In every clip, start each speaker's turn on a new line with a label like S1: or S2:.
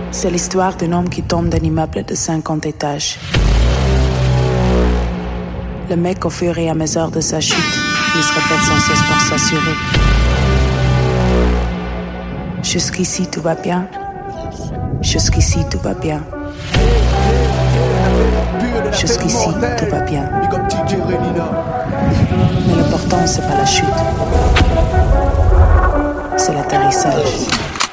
S1: C'est l'histoire d'un homme qui tombe d'un immeuble de 50 étages. Le mec, au fur et à mesure de sa chute, il se répète sans cesse pour s'assurer. Jusqu'ici, tout va bien. Jusqu'ici, tout va bien. Jusqu'ici, tout va bien. Mais l'important, c'est pas la chute. C'est l'atterrissage.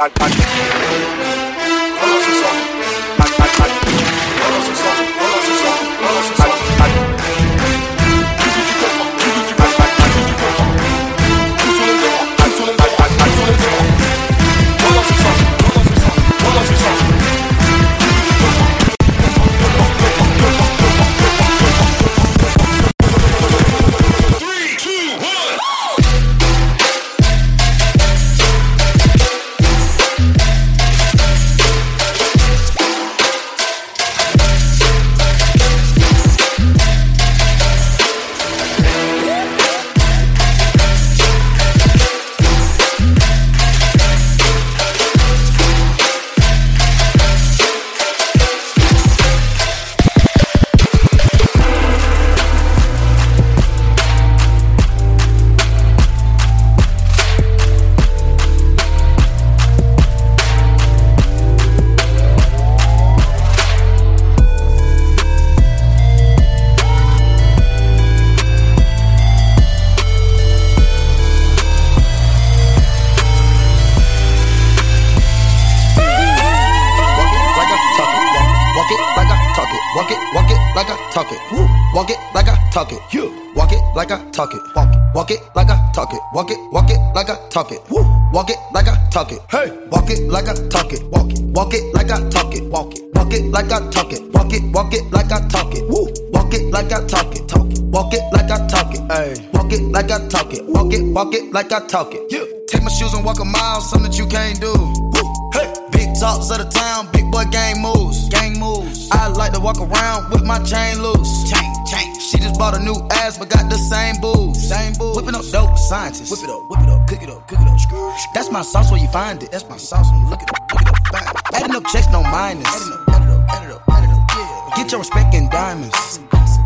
S2: talk it. You walk it like I talk it. Walk it like I talk it. Walk it like I talk it. Walk it like I talk it. Hey, walk it like I talk it. Walk it like I talk it. Walk it like I talk it. Walk it like I talk it. Walk it like I talk it. Walk it like I talk it. Hey, walk it like I talk it. Walk it like I talk it. Yeah. Take my shoes and walk a mile, something that you can't do. Hey, big talks of the town, big boy gang moves. Gang moves. I like to walk around with my chain loose. Chain. She just bought a new ass, but got the same booze. Whipping up dope scientists. Whip it up, cook it up. That's my sauce where you find it. That's my sauce when you look it up, find it. Adding up checks, no minus. Add it up, yeah. Get your respect in diamonds.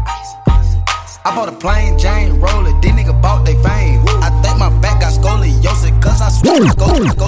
S2: I bought a plain Jane roller, these niggas bought they fame. I think my back got scoliosis, cause I swear go.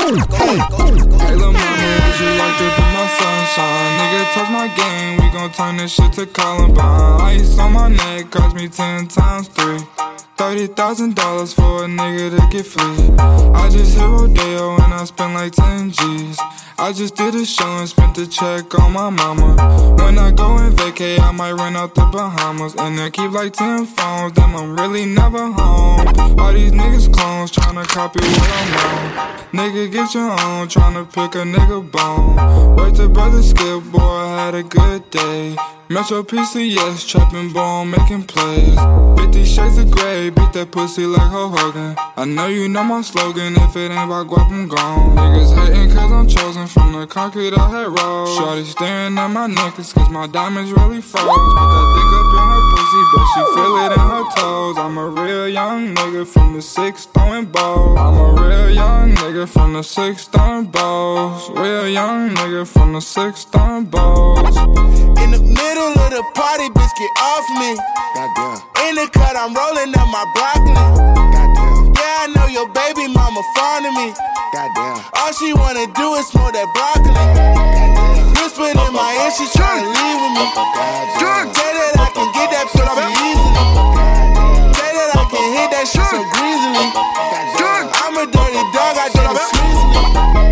S3: Hey lil' mama, would you like to be my sunshine? Nigga, touch my game, we gon' turn this shit to Columbine. Ice on my neck, cost me 10 times 3. $30,000 for a nigga to get free. I just hit Rodeo and I spent like 10 G's. I just did a show and spent the check on my mama. When I go and vacay, I might run out the Bahamas. And then keep like 10 phones, then I'm really never home. All these niggas clones tryna copy what I'm on. Nigga, get your own, tryna pick a nigga bone. Wait till brother Skip, boy, I had a good day. Metro PCS, trapping bone, making plays. 50 shades of grey, beat that pussy like Hulk Hogan. I know you know my slogan, if it ain't about guap, I'm gone. Niggas hating cause I'm chosen from the concrete I had rolled. Shorty staring at my necklace cause my diamonds really froze. Put that dick up in her pussy, but she feel it in her toes. I'm a real young nigga from the 6 throwing balls. I'm a real young nigga from the 6 throwing balls. Real young nigga from the 6 throwing balls.
S4: In the middle of the party, bitch, get off me.
S2: Goddamn.
S4: In the cut, I'm rolling up my broccoli.
S2: Goddamn.
S4: Yeah, I know your baby mama fond of me.
S2: Goddamn.
S4: All she wanna do is smoke that broccoli.
S2: Goddamn.
S4: Whispered in my ear, she tryna leave with me.
S2: Goddamn.
S4: Say that I can get that pussy easily. Say that I can hit that shit so greasily. I'm a dirty dog, I did it sleazily.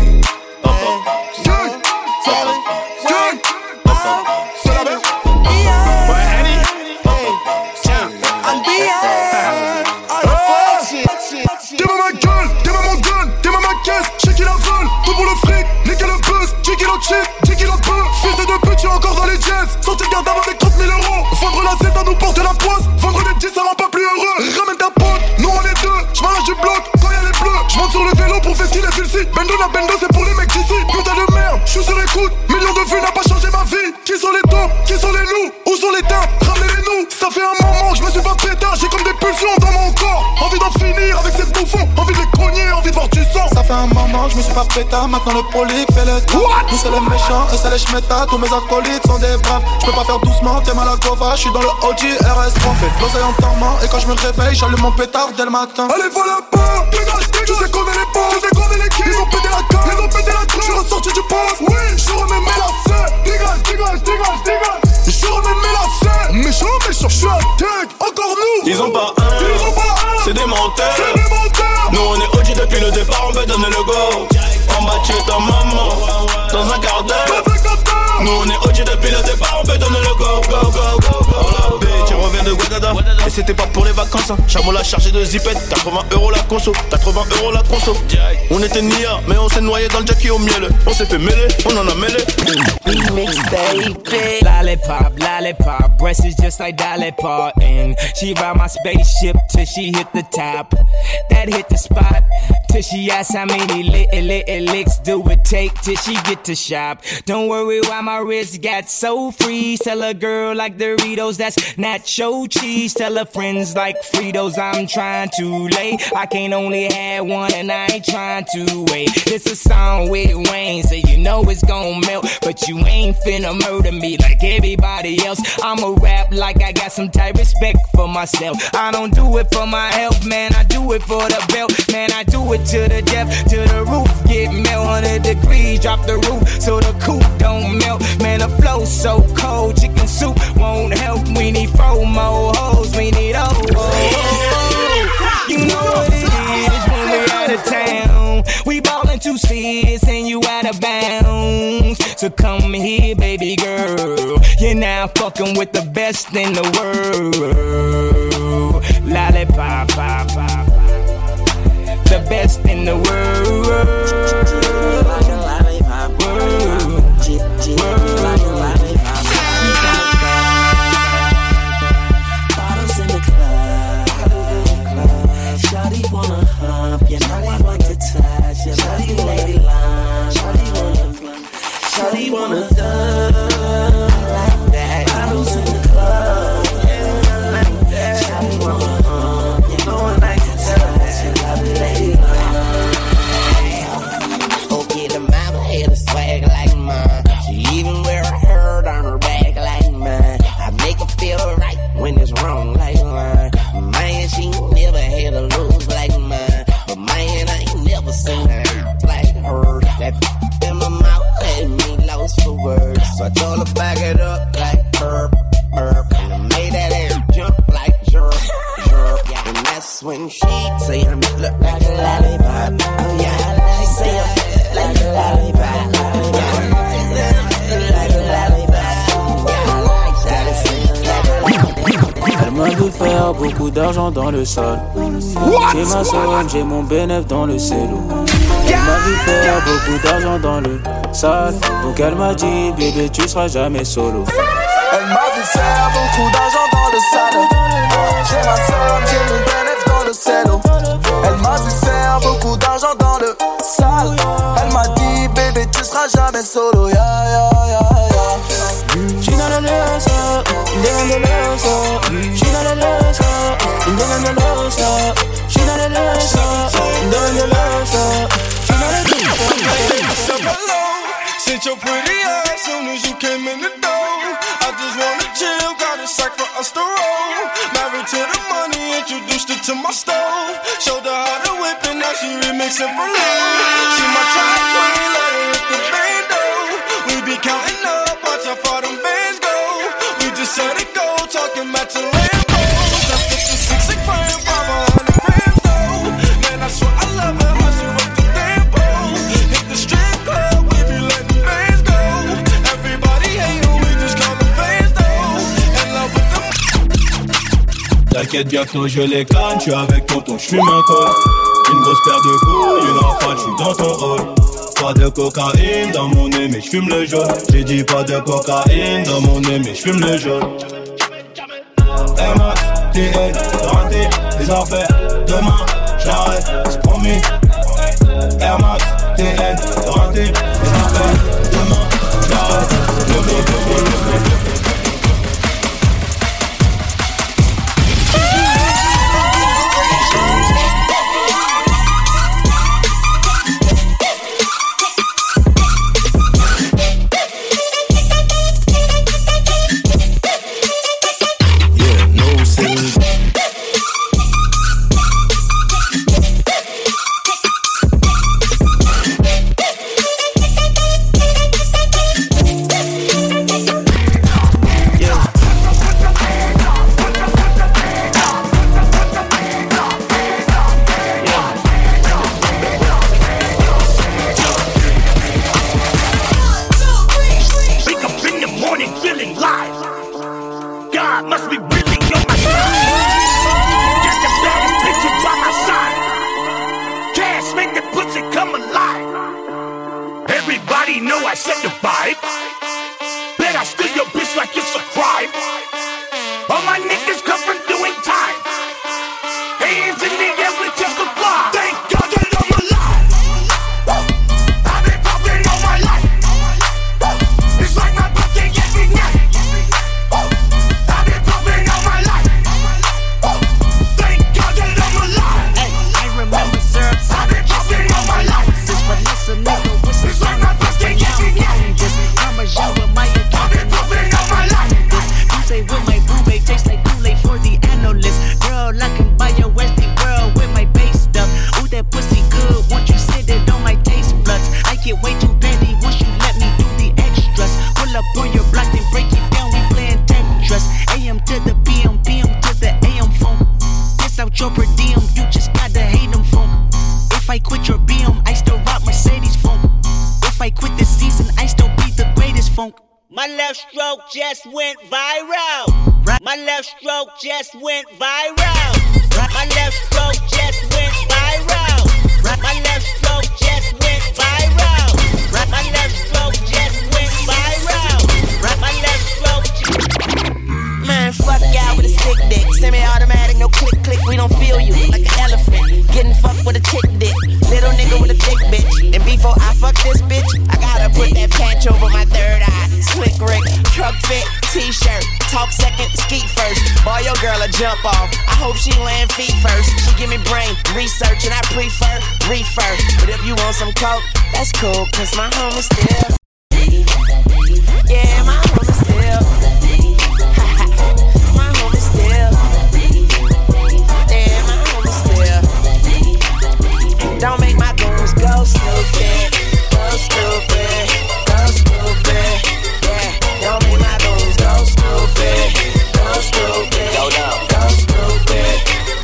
S5: Check qu'il en peut, fils de pute, tu es encore dans les jazz. Sorti de garde avec 30 000 euros. Vendre la cesse, ça nous porte la poisse. Vendre des 10, ça rend pas plus heureux. Ramène ta pote, nous on est deux. J'm'arrache du bloc quand y'a les bleus. J'monte sur le vélo pour faire ce qu'il est celui-ci. Bendo la bendo, c'est pour les mecs d'ici. Putain de merde, j'suis sur écoute. Millions de vues n'a pas changé ma vie. Qui sont les tops, qui sont les loups, où sont les teintes, ramenez-les-nous. Ça fait un moment que j'me suis pas pétard. J'ai comme des pulsions dans mon corps. Envie d'en finir avec ces bouffons. Envie de les cogner, envie de voir du sang.
S4: Ça fait un moment
S5: maman, je me suis pas pétard. Maintenant le prolique fait le temps. Nous c'est les méchants et c'est les schmettas. Tous mes acolytes sont des braves. Je peux pas faire doucement, t'es mal à Gova. Je suis dans le OG RS3. Fais de l'oseille en dormant. Et quand je me réveille, j'allume mon pétard dès le matin.
S4: Allez, voilà pas. Tu sais qu'on est les pauvres. Tu sais qu'on est les kills. Ils ont pété la carte. Ils ont pété la carte. Je suis ressorti du poste. Oui, je remets mes lacets. Dégage. Je remets mes lacets. Méchant, je suis à tech. Encore nous.
S6: Ils ont pas un. C'est des menteurs. Nous on est OG depuis le départ, on veut donner le go. On va tuer ta maman dans un quart d'heure. Nous on est OG depuis le départ, on veut donner le go. Tu reviens de Guadada et c'était pas pour les vacances hein. Chameau l'a chargé de zipette, 80€ la conso, 80€ la conso. On était nia, mais on s'est noyé dans le jackie au miel. On s'est fait mêler, on en a mêlé.
S7: Remix baby. Lollipop, breast is just like Dolly Parton. She ride my spaceship till she hit the top. That hit the spot till she asks how many licks do it take till she get to shop. Don't worry why my wrist got so free. Tell a girl like Doritos, that's nacho cheese. Tell her friends like Fritos, I'm trying to lay. I can't only have one and I ain't trying to wait. It's a song with Wayne, so you know it's gon' melt. But you ain't finna murder me like everybody else. I'ma rap like I got some type respect for myself. I don't do it for my health, man, I do it for the belt. Man, I do it to the depth, to the roof. Get melt 100 degrees, drop the roof so the coupe don't melt. Man, the flow so cold, chicken soup won't help. We need 4 more hoes, we need O's. You know what it is when we out of town. We ballin' 2 seats and you out of bounds. So come here, baby girl. You're now fucking with the best in the world. Lollipop, pop, pop. The best in the world. Like a lollipop. Bottles in the club. Shawty wanna hump. Yeah, shawty want to touch. Yeah, shawty lady line. Shawty wanna dance like that. Bottles in the club. Like that. Shawty wanna hump. Yeah, no one like to touch. Yeah, shawty lady line. Okay, the mama had a swag like mine. She even wear a herd on her back like mine. I make her feel right when it's wrong like mine. Man, she never had a lose like mine. But man, I ain't never seen her like her. That in my mouth had me lost for words. So I told her back it up like burp. And I made that air jump like jerk. Yeah, and that's when she say I'm look like a lollipop. Oh yeah, she say I'm like a lollipop.
S8: Elle m'a vu faire beaucoup d'argent dans le sol. J'ai ma somme, j'ai mon bénéf dans le cello. Elle m'a vu faire beaucoup d'argent dans le sale. Donc elle m'a dit, bébé, tu seras jamais solo.
S5: Elle m'a vu faire beaucoup d'argent dans le sale. J'ai ma somme, j'ai mon bénéf dans le cello. Elle m'a vu faire beaucoup d'argent dans le sale. Elle m'a dit, bébé, tu seras jamais solo. Yeah, yeah, yeah, yeah.
S8: She not a loser, doing the loser. She not a loser, doing the loser. She not a loser, doing the loser. She not a loser.
S4: Hello, since your pretty ass soon as you came in the door. I just wanna chill, got a sack for us to roll. Married to the money, introduced her to my stove. Showed her how to whip and now she remixing for low. She my track queen, let her hit the bando. We be counting up, watch how far them bands go. We just set it go, talking about to Lambos. That's 56 a gram, 500 grams though. Man, I swear I love her, how she work the damn pole. Hit the strip club, we be letting bands go. Everybody hate her, we just call them fans though. In love with them.
S6: T'inquiète, bientôt je les canne, j'suis avec tonton, j'fume un col. Une grosse paire de couilles, une rafale, j'suis dans ton rôle. Pas de cocaïne dans mon nez, mais j'fume le jaune. J'ai dit pas de cocaïne dans mon nez, mais j'fume le jaune. Max, TN, garantie, les affaires. Demain, j'arrête, c'est promis. Air Max, TN, garantie, les affaires. Demain, j'arrête,
S9: already know I set the vibe. Bet I steal your bitch like it's a crime. All my niggas come from doing time. Hands in the air with just a fly. Thank God that I'm alive. I've been popping all my life. It's like my birthday every night. I've been popping all my life. Thank God that I'm alive.
S10: Hey, I remember syrups.
S9: I've been popping all my life.
S10: This Vanessa nigga with some
S9: It's like my birthday every night.
S10: this Parmesan with my
S9: I've been popping all my life.
S10: You say with my boo babe tastes like Kool-Aid for the analyst. Girl, I can buy your Westie world with my base stuff. Ooh, that pussy good once you sit it on my taste buds. I get way too petty once you let me do the extras. Pull up on your block and break it down, we playing Tetris. AM to the PM, PM to the AM phone. Piss out your per diem, you just gotta hate them phone. If I quit your BM, I still rock Mercedes phone. If I quit this season, I still be the greatest funk.
S11: My left stroke just went viral. My left stroke just went viral. My left stroke just went viral. My left stroke just went viral. My left stroke just went viral. My left stroke.
S10: Man, fuck y'all with a sick dick. Semi-automatic, no click click. We don't feel you like an elephant. Getting fucked with a chick dick. Little nigga with a thick bitch. And before I fuck this bitch, I gotta put that patch over my third eye. Slick Rick, truck fit, t-shirt. Talk second, skeet first. Boy, your girl a jump off. I hope she land feet first. She give me brain research and I prefer reefer. But if you want some coke, that's cool, cause my home is still. Yeah, my home is still. My home is still. Yeah, my home is still. Don't make my goons go stupid. Go stupid. Go stupid. Yeah, don't make my goons go stupid. Go stupid. Go down. Go stupid.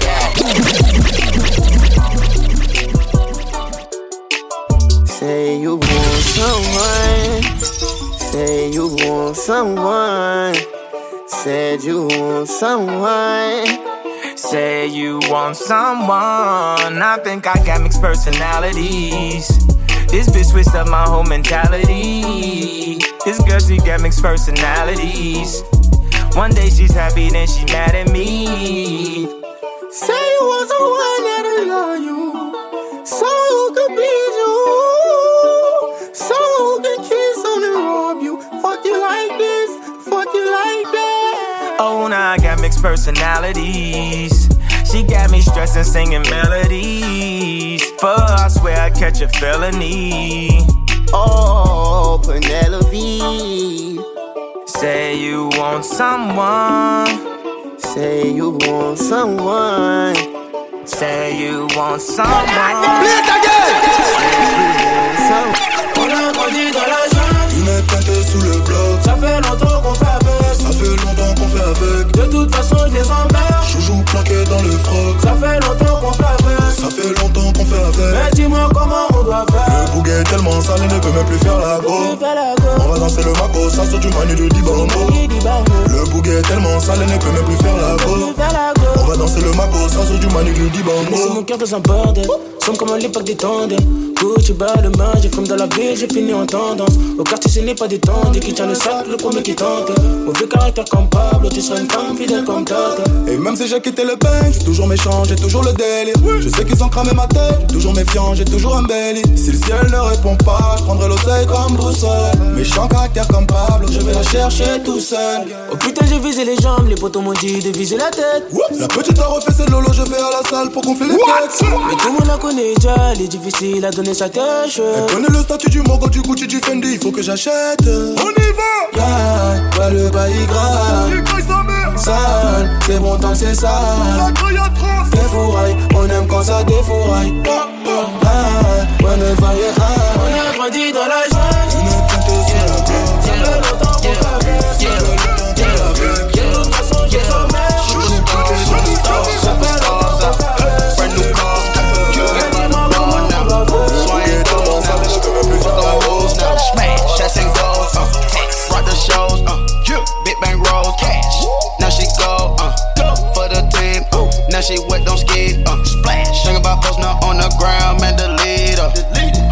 S10: Yeah. Say you want someone. Say you want someone. Said you want someone.
S7: Say you want someone. I think I got mixed personalities. This bitch switched up my whole mentality. This girl, she got mixed personalities. One day she's happy, then she mad at me.
S10: Say you want someone that'll love you, someone who could please you, someone who can kiss on and rob you. Fuck you like this, fuck you like that.
S7: Oh, now I got mixed personalities. She got me stressing, singing melodies. For her, I swear I catch a felony.
S10: Oh, Penelope.
S7: Say you want someone.
S10: Say you want someone.
S7: Say you want someone.
S2: Play it again.
S8: On a grandi dans la jungle.
S5: Tu m'es planté sous le bloc.
S8: Ça fait longtemps qu'on fait avec.
S5: Ça fait longtemps qu'on fait avec.
S8: De toute façon je les emmerde.
S5: Joujou planqué dans le froc.
S8: Ça fait longtemps qu'on fait avec.
S5: Ça fait longtemps qu'on fait avec.
S8: Mais dis-moi comment on doit faire.
S5: Le bouquet est tellement sale, il ne peut même plus faire la go. On va danser le maco, ça saute du manu de Dibango. Le bouquet est tellement sale, il ne peut même plus faire la go. On va danser le maco, ça saute du manu de Dibango.
S8: Laisse mon cœur dans un bordel. Somme comme à l'époque des tandems. Gucci bas de main, j'ai comme dans la ville, j'ai fini en tendance. Au quartier ce n'est pas détendu, qui tient le sac, le premier qui tente. Mauvais caractère comme Pablo, tu seras une femme fidèle comme Tata.
S5: Et même si j'ai quitté le bank, j'ai toujours méchant, j'ai toujours le délire. Je sais qu'ils ont cramé ma tête, toujours méfiant, j'ai toujours un belly. Si le ciel ne répond pas, je prendrai l'oseille comme boussole. Méchant caractère comme Pablo, je vais la chercher tout seul.
S8: Oh putain j'ai visé les jambes, les potos m'ont dit de viser la tête.
S5: La petite a refait ses lolos, je vais à la salle pour gonfler les têtes.
S8: Mais tout le monde la connaît déjà, elle est difficile à donner sa tâche.
S5: Elle connaît le statut du Mogo, du Gucci, du Fendi, il faut que j'achète. On y va!
S8: Yeah, ouais le bail grave. Sale, c'est bon tant que c'est sale. Des fourrailles, on aime quand ça défouraille. Ouais le bail est rare. On a grandi dans la jungle.
S5: Tu n'es planté sur la bloc.
S8: Ça fait longtemps qu'on fait avec. De toute façon je les emmerde. Ça fait longtemps qu'on fait avec.
S6: Smash, shots and goals, rock the shows, big bang rolls, cash. Now she go, for the team, now she wet, don't skid, splash. Think about posting her on the ground, man, the leader.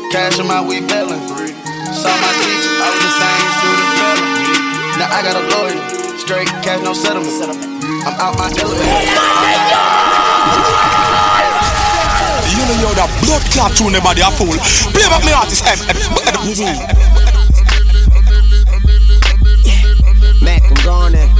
S2: Cash in my weed bellin'. Saw my teacher, I was the same student felon. Now I got a lawyer, straight cash, no settlement. I'm out my element.
S5: You know you're that blood clot tune, nobody a fool. Play back me artist,
S10: Mac, I'm going in.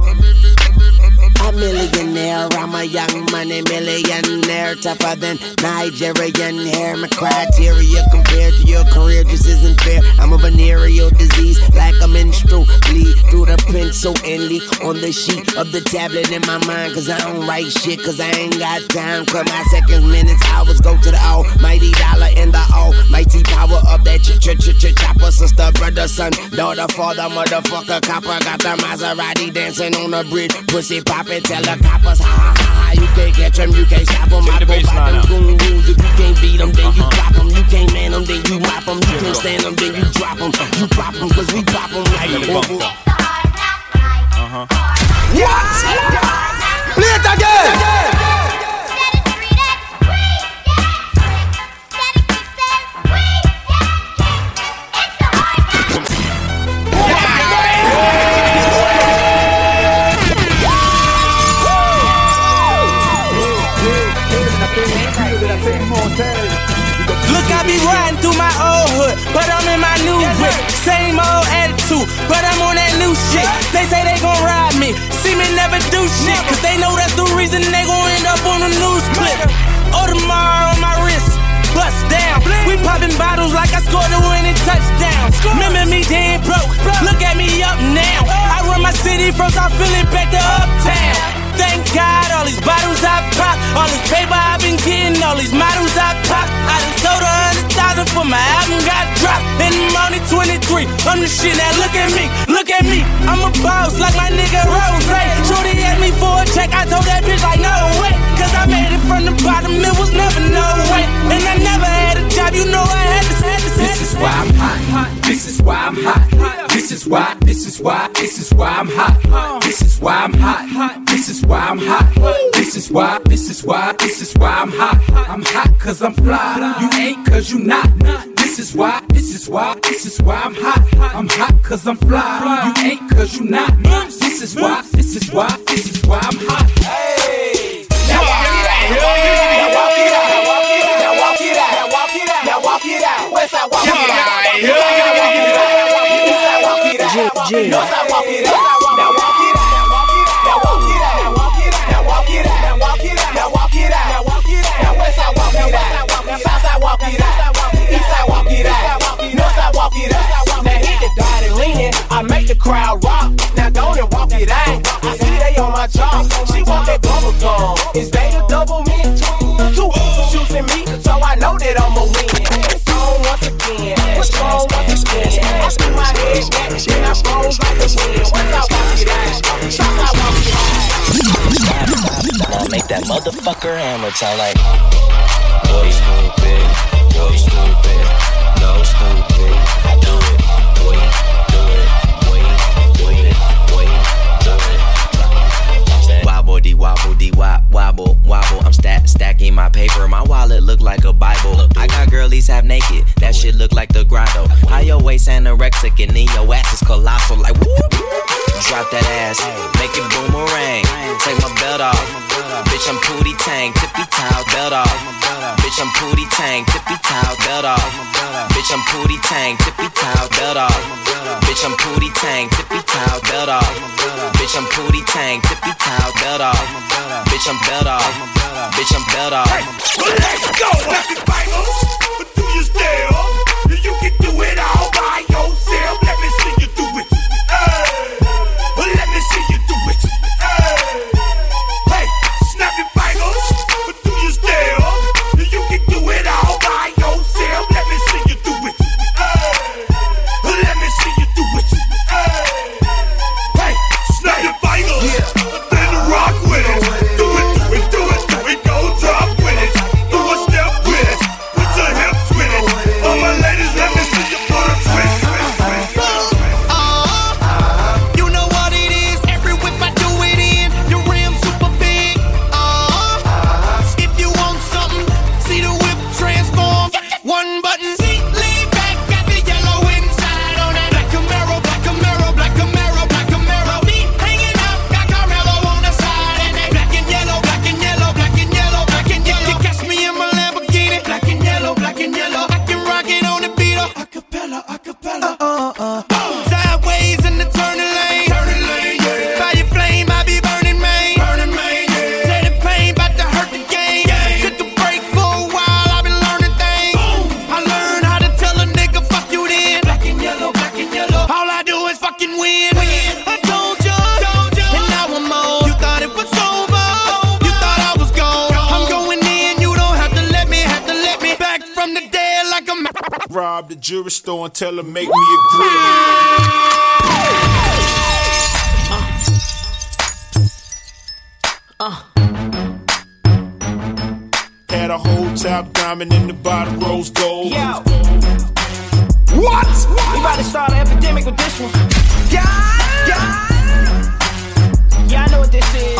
S10: A millionaire, I'm a young money millionaire, tougher than Nigerian hair. My criteria compared to your career just isn't fair. I'm a venereal disease, like a menstrual bleed through the pencil and leak on the sheet of the tablet in my mind. Cause I don't write shit, cause I ain't got time. Cut my seconds, minutes, hours, go to the almighty dollar and the almighty power of that chopper. Sister, brother, son, daughter, father, motherfucker, copper. Got the Maserati dancing on the bridge, pussy poppin'. Tell the coppers, ha ha ha, you can't catch them, you can't stop them. I go by them goon rules, if you can't beat them, then you drop them. You can't man them, then you mop them. You can't stand them, then you drop them. You pop them, cause we pop them like over.
S5: What? Play it again!
S7: Look, I be riding through my old hood, but I'm in my new whip. Same old attitude, but I'm on that new shit. They say they gon' ride me, see me never do shit, cause they know that's the reason they gon' end up on the news clip. Audemars on my wrist, bust down. We popping bottles like I scored a winning touchdown. Remember me dead broke, look at me up now. I run my city from South Philly back to Uptown. Thank God, all these bottles I pop, all this paper I've been getting, all these models I pop. I done sold 100,000 for my album got dropped. And I'm only 23, I'm the shit, now look at me, I'm a boss like my nigga Rose. Shorty asked me for a check, I told that bitch like no way, cause I made it from the bottom, it was never no way. And I never had a job, you know I had to say.
S12: This is why I'm hot, this is why I'm hot. This is why I'm hot. This is why I'm hot. This is why I'm hot. This is why I'm hot. I'm hot cause I'm fly. You ain't cause you not. This is why I'm hot. I'm hot cause I'm fly. You ain't cause you not. This is why I'm hot. Hey! Now walk it out. Now walk it out. Now walk it out. Now walk it out. West side walk it out. East side walk it out. North side walk it out. Now walk it out. Now walk it out. Now walk it out. Now walk it out. Now walk it out. Now walk it out. Now west side walk it out. South side walk it out. East side walk it out. North side walk it out. Now hit the dot and lean. I make the crowd rock. Now go and walk it out. I see they on my job. She want that bubble gum. Is they the double mint? Two shooting me, so I know that I'ma win. It's on once again. It's on once again. I threw my head back, then I froze like the wind. Once I walk it out, stop I walk it out.
S13: I'll make that motherfucker hammer sound like boy stupid, boy stupid, no stupid. I do it, boy, do it, boy, do it, boy, do it. Wobble dee wobble dee wobble wobble. I'm stacking my paper. My wallet look like a Bible. I got girlies half naked. That shit look like the grotto. How your waist anorexic and then your ass is colossal. Like whoop. Drop that ass, make it boomerang. Take my belt off. Bitch, I'm Pootie Tang, tippy towel, belt off. Bitch, I'm Pootie Tang, tippy towel, belt off. Bitch, I'm Pootie Tang, tippy towel, belt off. Bitch, I'm Pootie Tang, tippy towel, belt off. Bitch, I'm Pootie Tang, tippy towel, belt off. Bitch, I'm belt off. Bitch, I'm belt off.
S9: Well, let's go, happy Bibles. But do you still? You can do it all by yourself. Let me see you do it. Let me see you do it. Hey, snap your fingers. But do you still? You can do it all by yourself. Let me see you do it. Let me see you do it. Hey, snap your fingers. Then rock with it. Do it. Go drop with it. Do a step with it. Put your hips with it. All my ladies, let me see you put a twist.
S14: rob the jewelry store and tell her make me a grill. Had a whole top diamond in the bottom, rose gold.
S7: Yo. What? We about to start an epidemic with this one. Yeah, I know what this is.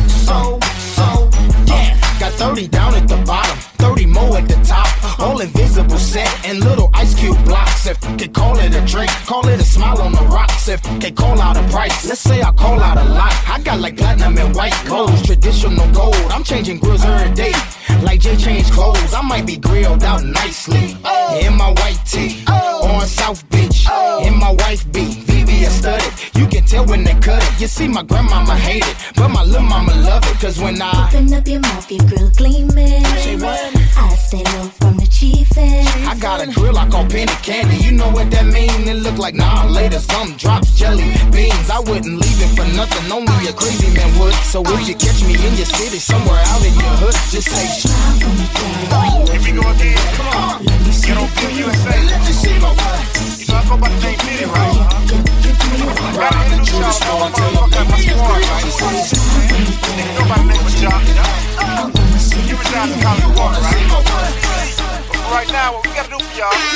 S7: Yeah.
S15: Got 30 down at the bottom, 30 more at the top. All invisible set and little ice cube blocks. If they call it a drink, call it a smile on the rocks. If they call out a price, let's say I call out a lot. I got like platinum and white gold, traditional gold. I'm changing grills every day, like Jay changed clothes. I might be grilled out nicely in my white tee on South Beach. In my wife beat, VVS studded. You can tell when they cut it. You see, my grandmama hate it, but my little mama love it. Cause when I
S16: open up your mouth, your grill gleaming.
S15: Say what?
S16: I stay low from the chiefin'.
S15: I got a grill I call penny candy. You know what that mean? It look like nah later. Some drops jelly beans. I wouldn't leave it for nothing. Only a crazy man would. So if you catch me in your city, somewhere out in your hood, just say
S16: smile for me, girl.
S9: Here we go again. Come on. Get on Pure USA.
S15: Let me see my wife.
S9: You know I go by the name Diddy, right? Gotta introduce y'all to all my squad, right? Nigga, nobody name was Jock. You reside in College Park, right? But right now, what we gotta do for y'all?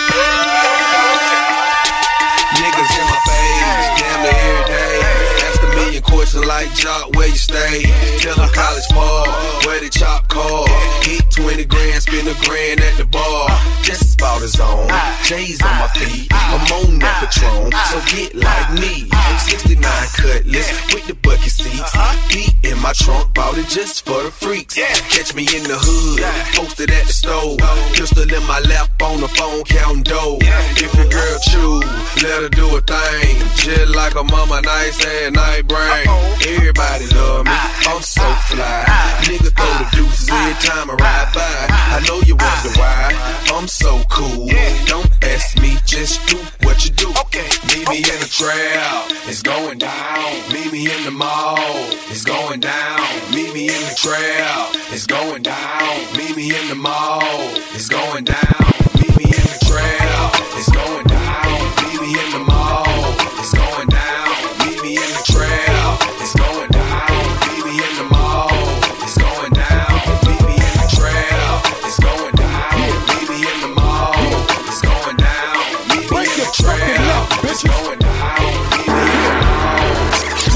S17: Niggas in my face, damn near every day. Ask a million questions like Jock, where you stay? Tell them College Park, where the chop car. Hit 20 grand, spend a grand at the bar. Just about his own. J's on my feet, I'm on that Patron. So get like me, 69 Cutlass with the bucket seats. Beat in my trunk, bought it just for the freaks. Catch me in the hood, posted at the stove. Pistol in my lap on the phone, counting dough. If your girl chew, let her do a thing. Just like a mama, nice and night brain. Everybody love me, I'm so fly. Niggas throw the deuces every time I ride by. I know you wonder why, I'm so cool. Don't ask me, just do what you do. Meet me in the trap, it's going down. Meet me in the mall, it's going down. Meet me in the trap, it's going down. Meet me in the mall, it's going down. Meet me in the trap, it's going down. Meet me in the mall, it's going down. Meet me in the trap, it's going down. Meet me in the mall, it's going down. Meet me in the trap, it's going down. Meet me in the mall, it's going down. Meet me in the trap, it's going down. Meet me in the mall.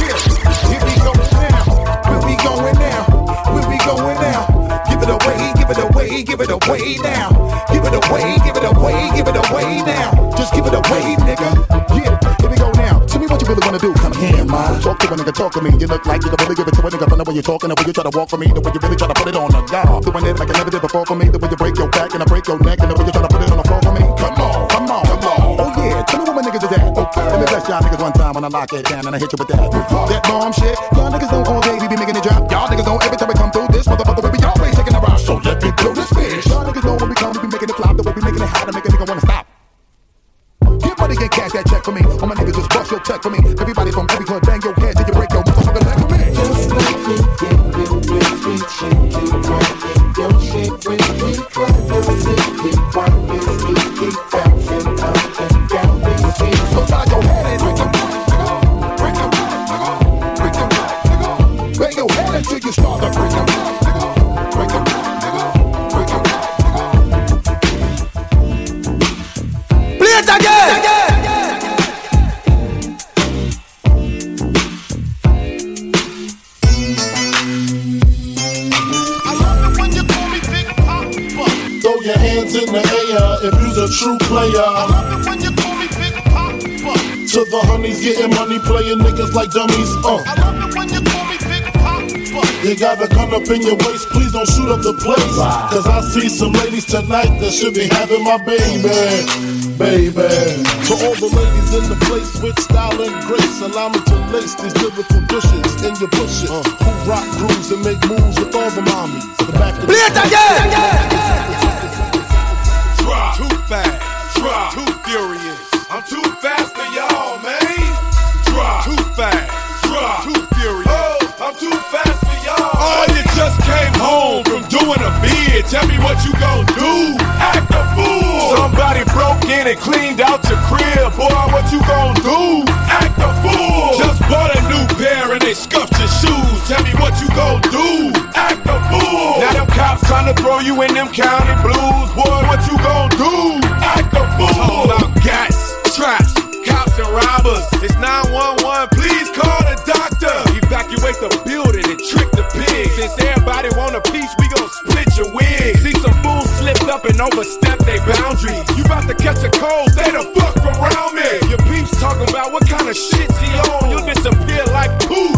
S5: Here we go now. Where we going now? Where we going now? Give it away, give it away, give it away now. Give it away, give it away, give it away now. Just give it away, nigga. Yeah, here we go now. Tell me what you really wanna do. Come here, man. Talk to a nigga, talk to me. You look like you can really give it to a nigga from the way you're talking, the way you try to walk for me, the way you really try to put it on the guard. Doing it like I never did before for me, the way you break your back and I break your neck, and the way you try to put it on the floor for me. Come on, come on, come on. Oh yeah, tell me what my niggas is at. Okay, let me bless y'all niggas one time when I lock it down and I hit you with that. That bomb shit. Y'all niggas don't all day we be making it drop. Y'all niggas don't every time we come through this motherfucker we be always taking a rock. So let me blow this bitch. Y'all niggas know when we come we be making it flop. The way we making it hot and make a nigga wanna stop. Get money and cash that check for me. All my niggas just bust your check for me. Everybody from every club bang your head till you break your motherfucking leg for me.
S18: Just like we get real street shit to run your shit with me. Club city pockets, we keep bouncing up and down this street.
S5: So try your head and break your back, nigga. Break your back, nigga. Break your back, nigga. Bang your head until you start to break your back, nigga. Break your back, nigga. Break your back, nigga.
S15: Play it again.
S19: Throw your hands in the air if you's a true player. I love it when you call me Big Papa. To the honeys getting money, playing niggas like dummies. I love it when you call me Big Papa. You got a gun up in your waist, please don't shoot up the place. Cause I see some ladies tonight that should be having my baby. To all the ladies in the place with style and grace, allow me to lace these lyrical dishes in your bushes. Who rock grooves and make moves with all the mommies. The back of the
S15: Play it again.
S9: Drop. Too fast. Drop. Too furious. I'm too fast for y'all, man. Drop. Too fast. Drop. Too furious. Oh, I'm too fast for y'all. Oh, you just came home from doing a bid. Tell me what you gon' do. Act a fool. Somebody broke
S14: in and cleaned out your crib. Boy, what you gon' do? Act a fool. Just bought a new pair and they scuffed your shoes. Tell me what you gon' do? Act a fool. Now them cops trying to throw you in them county blues. Boy, what you gon' do? Act a fool. Talking about gas, traps, cops and robbers. It's 911, please call the doctor. Evacuate the building and trick the pigs. Since everybody want a piece, we gon' split your wig. See some fools slipped up and overstepped their boundaries. You about to catch a cold, stay the fuck from around me. Your peeps talking about what kind of shit he on. You'll disappear like poof.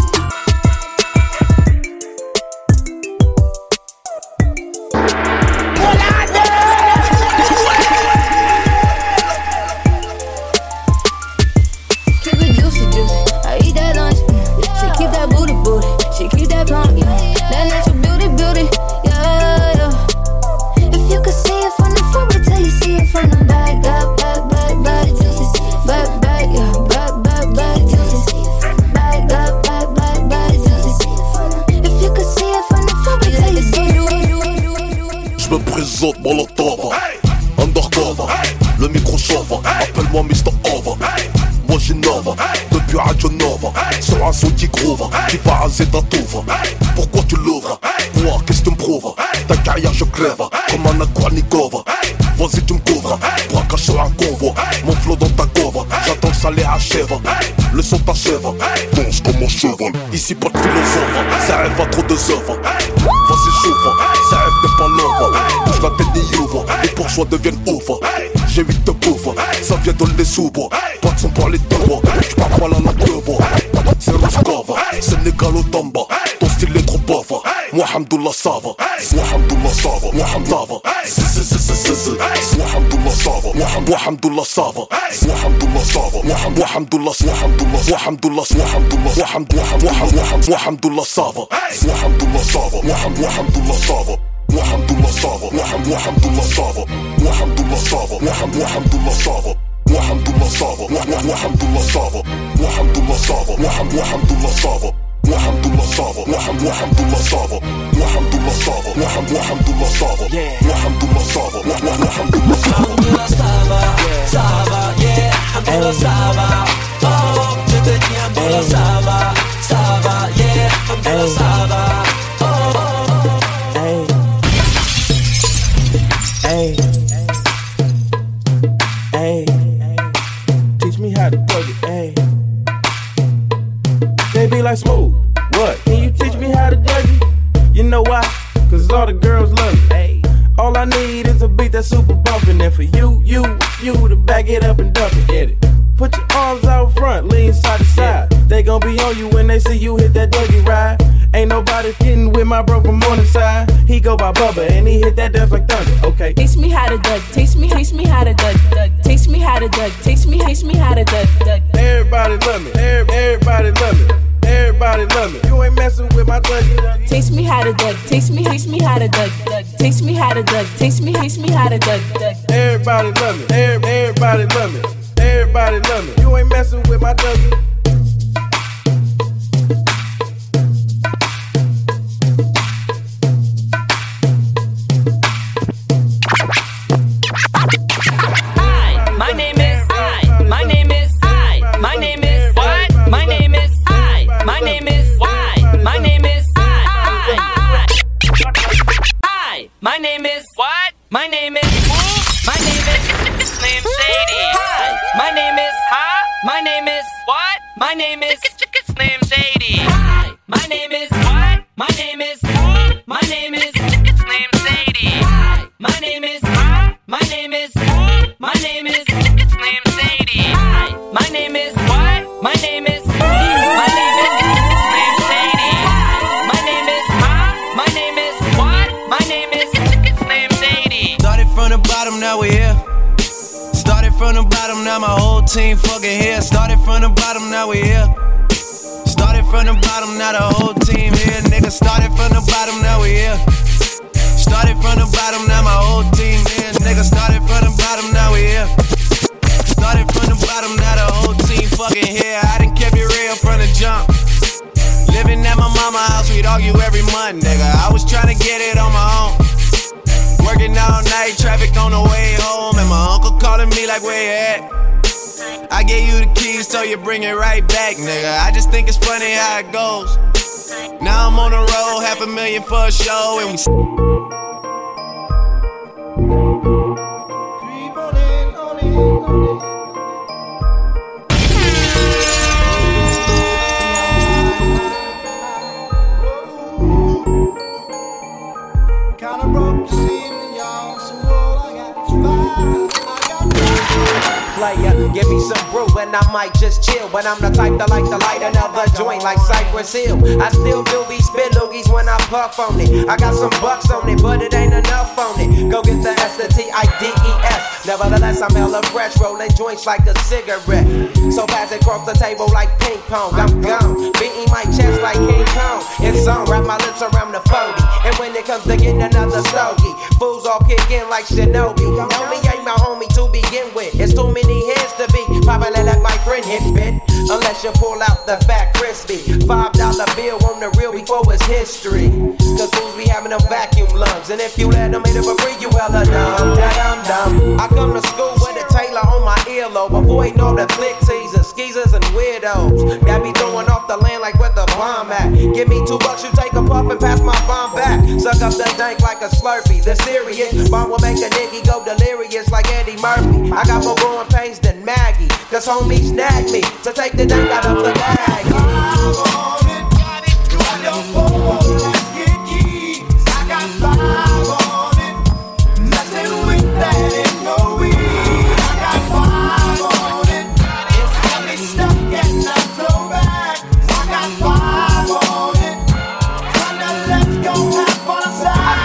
S20: She keep that plump, yeah. That natural beauty, yeah, yeah. If you could see it from the front, wait till you see it from the back, back, back, back, back, back, back, yeah, back, back, back, back, back, back, back, back. If you could see it from the front, wait till you see it.
S21: Je me présente, Molotov, undercover, le micro chauve, appelle-moi Mr. Over. Moi j'innove, depuis Radio Nova, sur un son qui groove, qui va raser ta touve. Pourquoi tu l'ouvres? Moi, qu'est-ce que tu me prouves? Ta carrière je crève, comme un Aquanikova. Vas-y tu me couvres, braquage sur un convoi. Mon flow dans ta cove, j'attends que ça les achève. Le son t'achève, danse comme un cheval. Ici pas de philosophe, ça rêve à trop de œuvres. Vas-y chauffe, ça rêve n'est pas l'œuvre. Bouge la tête des ouvre, les bourgeois deviennent ouvres. J'ai 8 de bouffe, ça vient de les sous-bois. Pas de son pour les deux bois, j'parle pas la langue de bois. C'est Roscova, Sénégal au Tamba. Ton style est trop pauvre, moi hamdoullah ça va. Moi hamdoullah ça va, moi hamdoullah ça va. Moi hamdoullah ça va, moi hamdoullah ça va. Moi hamdoullah ça va, moi hamdoullah ça va. Moi hamdoullah ça va, moi hamdoullah ça va. Moi hamdoullah ça va. Alhamdulillah Sava, Alhamdulillah Sava, Alhamdulillah Sava, Alhamdulillah Sava, Alhamdulillah Sava, Alhamdulillah Sava, Alhamdulillah Sava, Alhamdulillah Sava, Alhamdulillah Sava, Alhamdulillah Sava, Alhamdulillah Sava, Alhamdulillah Sava, Alhamdulillah Sava, Alhamdulillah Sava,
S22: Sava, yeah, Alhamdulillah Sava, oh, je te dis Alhamdulillah Sava, Sava, yeah, Alhamdulillah Sava,
S7: Hey, hey, teach me how to plug it, hey. They be like Smooth, what? Can you teach me how to plug it? You know why? Cause all the girls love it, hey. All I need is a beat that's super bumpin'. And for you to back it up and dump it, get it. Put your arms out front, lean side to side. They gon' be on you when they see you hit that Dougie ride. Ain't nobody getting with my bro from Morningside. He go by Bubba and he hit that dance like thunder. Okay.
S23: Teach me how to duck. Teach me how to duck. Teach me how to duck. Teach me how to duck.
S7: Everybody love me. Everybody love me. Everybody love me. You ain't messing with my Dougie.
S23: Teach me how to duck. Teach me how to duck. Teach me how to duck. Teach me how to duck.
S7: Everybody love me. Everybody love me. Everybody love me. You ain't messing with my Dougie.
S22: My name is what? My name is my name is Slim Shady. Hi. My name is My name is what? My name is Slim Shady. Hi. My name is what? My name is my name is Slim Shady. Hi. My name is my name is my name is Slim Shady. Hi. My name is what? My name is my name is Slim Shady. Hi. My name is my name is what? My name is Slim Shady.
S24: Started from the bottom, now we're here. Started from the bottom, now my whole team fucking here. Started from the bottom, now we here. Started from the bottom, now the whole team here. Nigga, started from the bottom, now we here. Started from the bottom, now my whole team here. Nigga, started from the bottom, now we here. Started from the bottom, now the whole team fucking here. I done kept it real from the jump. Living at my mama's house, we'd argue every month, nigga. I was trying to get it on my own. working all night, traffic on the way home, and my uncle calling me like, where you at? I gave you the keys, so you bring it right back, nigga. I just think it's funny how it goes. Now I'm on the road, $500,000 for a show, and we
S1: Kinda broke this evening, y'all, so all I got is five.
S12: Player, give me some brew and I might just chill. But I'm the type that like to light another joint like Cypress Hill. I still do be spit loogies when I puff on it. I got some bucks on it, but it ain't enough on it. Go get the S-T-I-D-E-S. Nevertheless, I'm hella fresh, rolling joints like a cigarette. So pass it across the table like ping pong. I'm gone, beating my chest like King Kong. It's on, wrap my lips around the 40. And when it comes to getting another stogie, fools all kick in like Shinobi. Homie ain't my homie to begin with. It's too many heads to be probably let my friend hit bit. Unless you pull out the fat crispy $5 bill on the real before it's history. Cause fools be having them vacuum lungs. And if you let them hit it for free, you hella dumb. Dumb. I come to school with a Taylor on my earlobe, avoiding all the flick teasers, skeezers, and weirdos that be throwing off the land like where the bomb at. Give me $2, you take a puff and pass my bomb back. Suck up the dank like a Slurpee. The serious bomb will make a nigga go delirious like Eddie Murphy. I got more growing pains than Maggie, cause homies snagged me to take the dank out of the bag.
S1: I got 5 on it. Nothing with that ain't no weed. I got 5 on it. It's got me stuck and I throw back. I got 5 on it. Kinda let's go have fun side.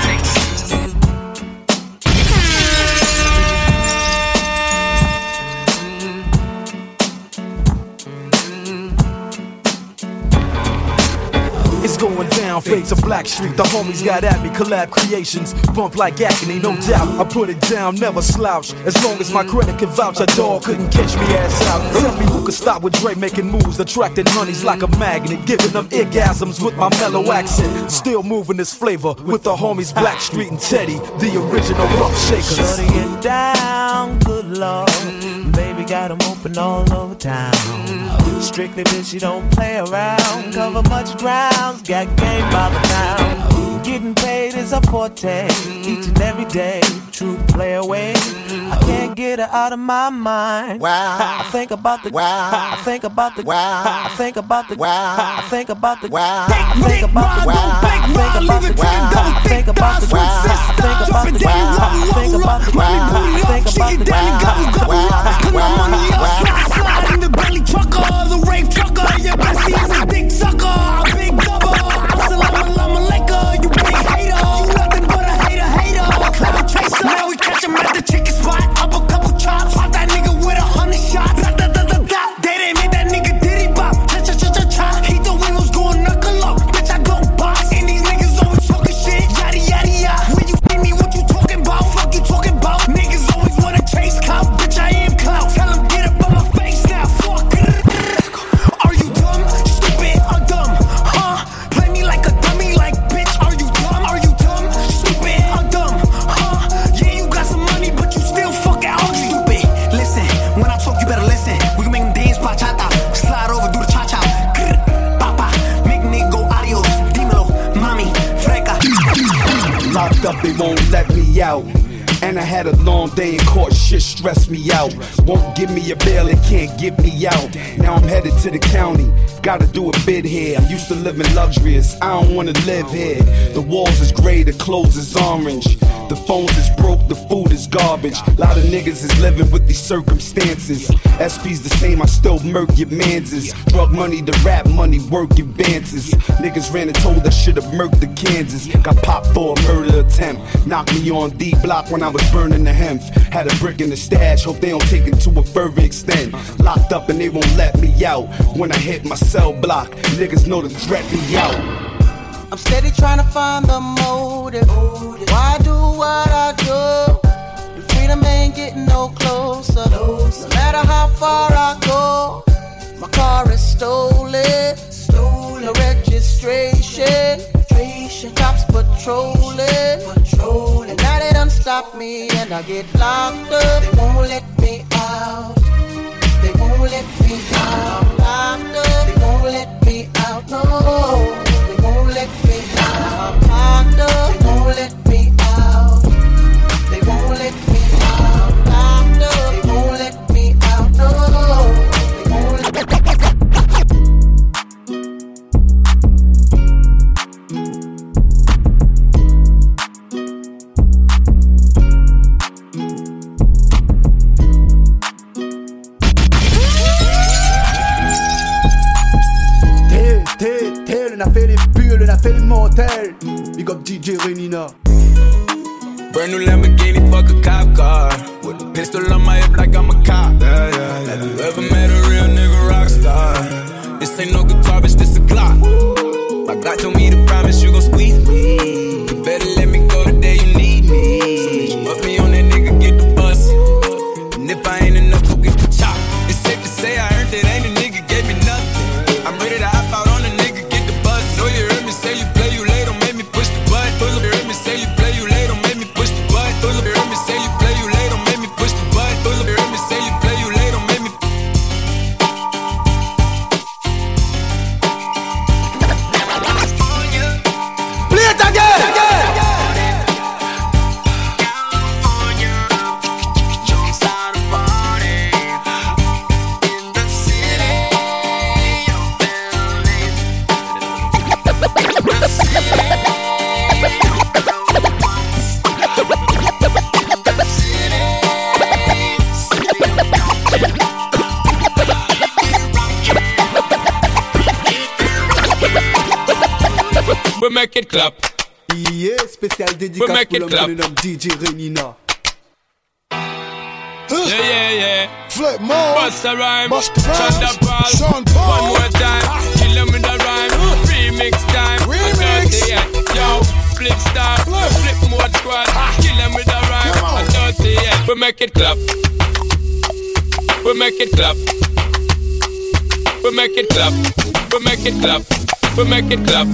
S3: It's going down, fade to Black Street. The homies got at me, collab creations. Bump like agony, no doubt. I put it down, never slouch. As long as my credit can vouch, a dog couldn't catch me ass out. Tell me who could stop with Dre making moves, attracting honeys like a magnet, giving them orgasms with my mellow accent. Still moving this flavor with the homies Black Street and Teddy, the original rough shakers.
S4: Shutting it down, good lord. Baby got them open all over town. Strictly bitch, you don't play around. Cover much grounds, got game by the pound. Getting paid is a forte, each and every day. True play away. I can't get her out of my mind. Wow. I think about the wow. I think about the wow. I think about the wow. I think about the wow. I think about the wow. I think about the wow. I think about the wow. I think about the wow. I think about the wow. I think about the wow.
S1: Cause I'm on the outside, slide in the belly trucker, the rape trucker. Your bestie is a dick sucker, big double. Assalamu alaikum, you big hater. You nothing but a hater. Cloud chaser. Now we catch him at the chicken spot. Up a couple chops. Pop that nigga with 100 shots. They didn't make that nigga diddy bop. Cha. He thought we was going knuckle up. Bitch, I don't box. And these niggas always talking shit. Yada. When you see me, what you talking about? Fuck you talking about? Niggas always wanna chase clout. Bitch, I am clout. Tell him get up on my face now. Fuck. Are you dumb? Stupid or dumb? Huh? Play me like a dummy, like bitch. Are you dumb? Are you dumb? Stupid or dumb? Huh? Yeah, you got some money, but you still fucking ugly. Stupid. Listen, when I talk, you better listen. We can make them dance, bachata. Slide over, do the cha-cha. Papa, make nigga go adios. Dímelo, mami, freca.
S11: Locked up, they won't let me out. And I had a long day in court, shit stressed me out. Won't give me a bail, it can't get me out. Now I'm headed to the county, gotta do a bid here. I'm used to living luxurious, I don't wanna live here. The walls is gray, the clothes is orange. The phones is broke, the food is garbage. Lot of niggas is living with these circumstances. SP's the same, I still murk your manses. Drug money to rap money, work advances. Niggas ran and told I should've murked the Kansas. Got popped for a murder attempt. Knocked me on D block when I was burning the hemp. Had a brick in the stash, hope they don't take it to a further extent. Locked up and they won't let me out. When I hit my cell block, niggas know to threat me out.
S1: I'm steady trying to find the motive. Why I do what I do? And freedom ain't getting no closer. No matter how far I go, my car is stolen. No registration. Cops patrolling. And now they done
S2: stop me and I get locked up. They won't let me out. They won't let me out. I'm locked up. They won't let me out. No, they won't let me out. I'm locked up. They won't let me out. They won't let me out. Locked up. They won't let me out. No, they won't let me out.
S11: On a fait les bulles, on a fait les motels. Big up DJ Renina.
S6: Brand new Lamborghini, fuck a cop car. With a pistol on my hip like I'm a cop. Have you ever met a real nigga rock star? This ain't no guitar, bitch, this a Glock. My God told me to promise you gon' squeeze me. You better let me go the day you need me. So bitch, put me on that nigga, get the bus. And if I ain't enough, go get the chop. It's safe to say I earned it, ain't a nigga gave me nothing. I'm ready to hop out on a nigga, get the bus. So you heard me say you play, you late, don't make me push the button. You heard me say you play, you late, don't make me push the button. You heard me say you play, you late, don't make me push the button. You heard me say you play, you late, don't make me.
S11: Play it again!
S6: We make it clap.
S11: Yeah, spécial dédicace pour l'homme DJ Renina.
S6: Yeah.
S19: Flip more.
S6: Bust a rhyme.
S19: Bust the rhymes.
S6: Sean Paul. One more time. Kill them with the rhyme. Remix time.
S19: Remix.
S6: Yo, flip star. Flip mode squad. Kill them with the rhyme. Dirty, yeah. We make it clap. We make it clap. We make it clap. We make it clap. We make it clap.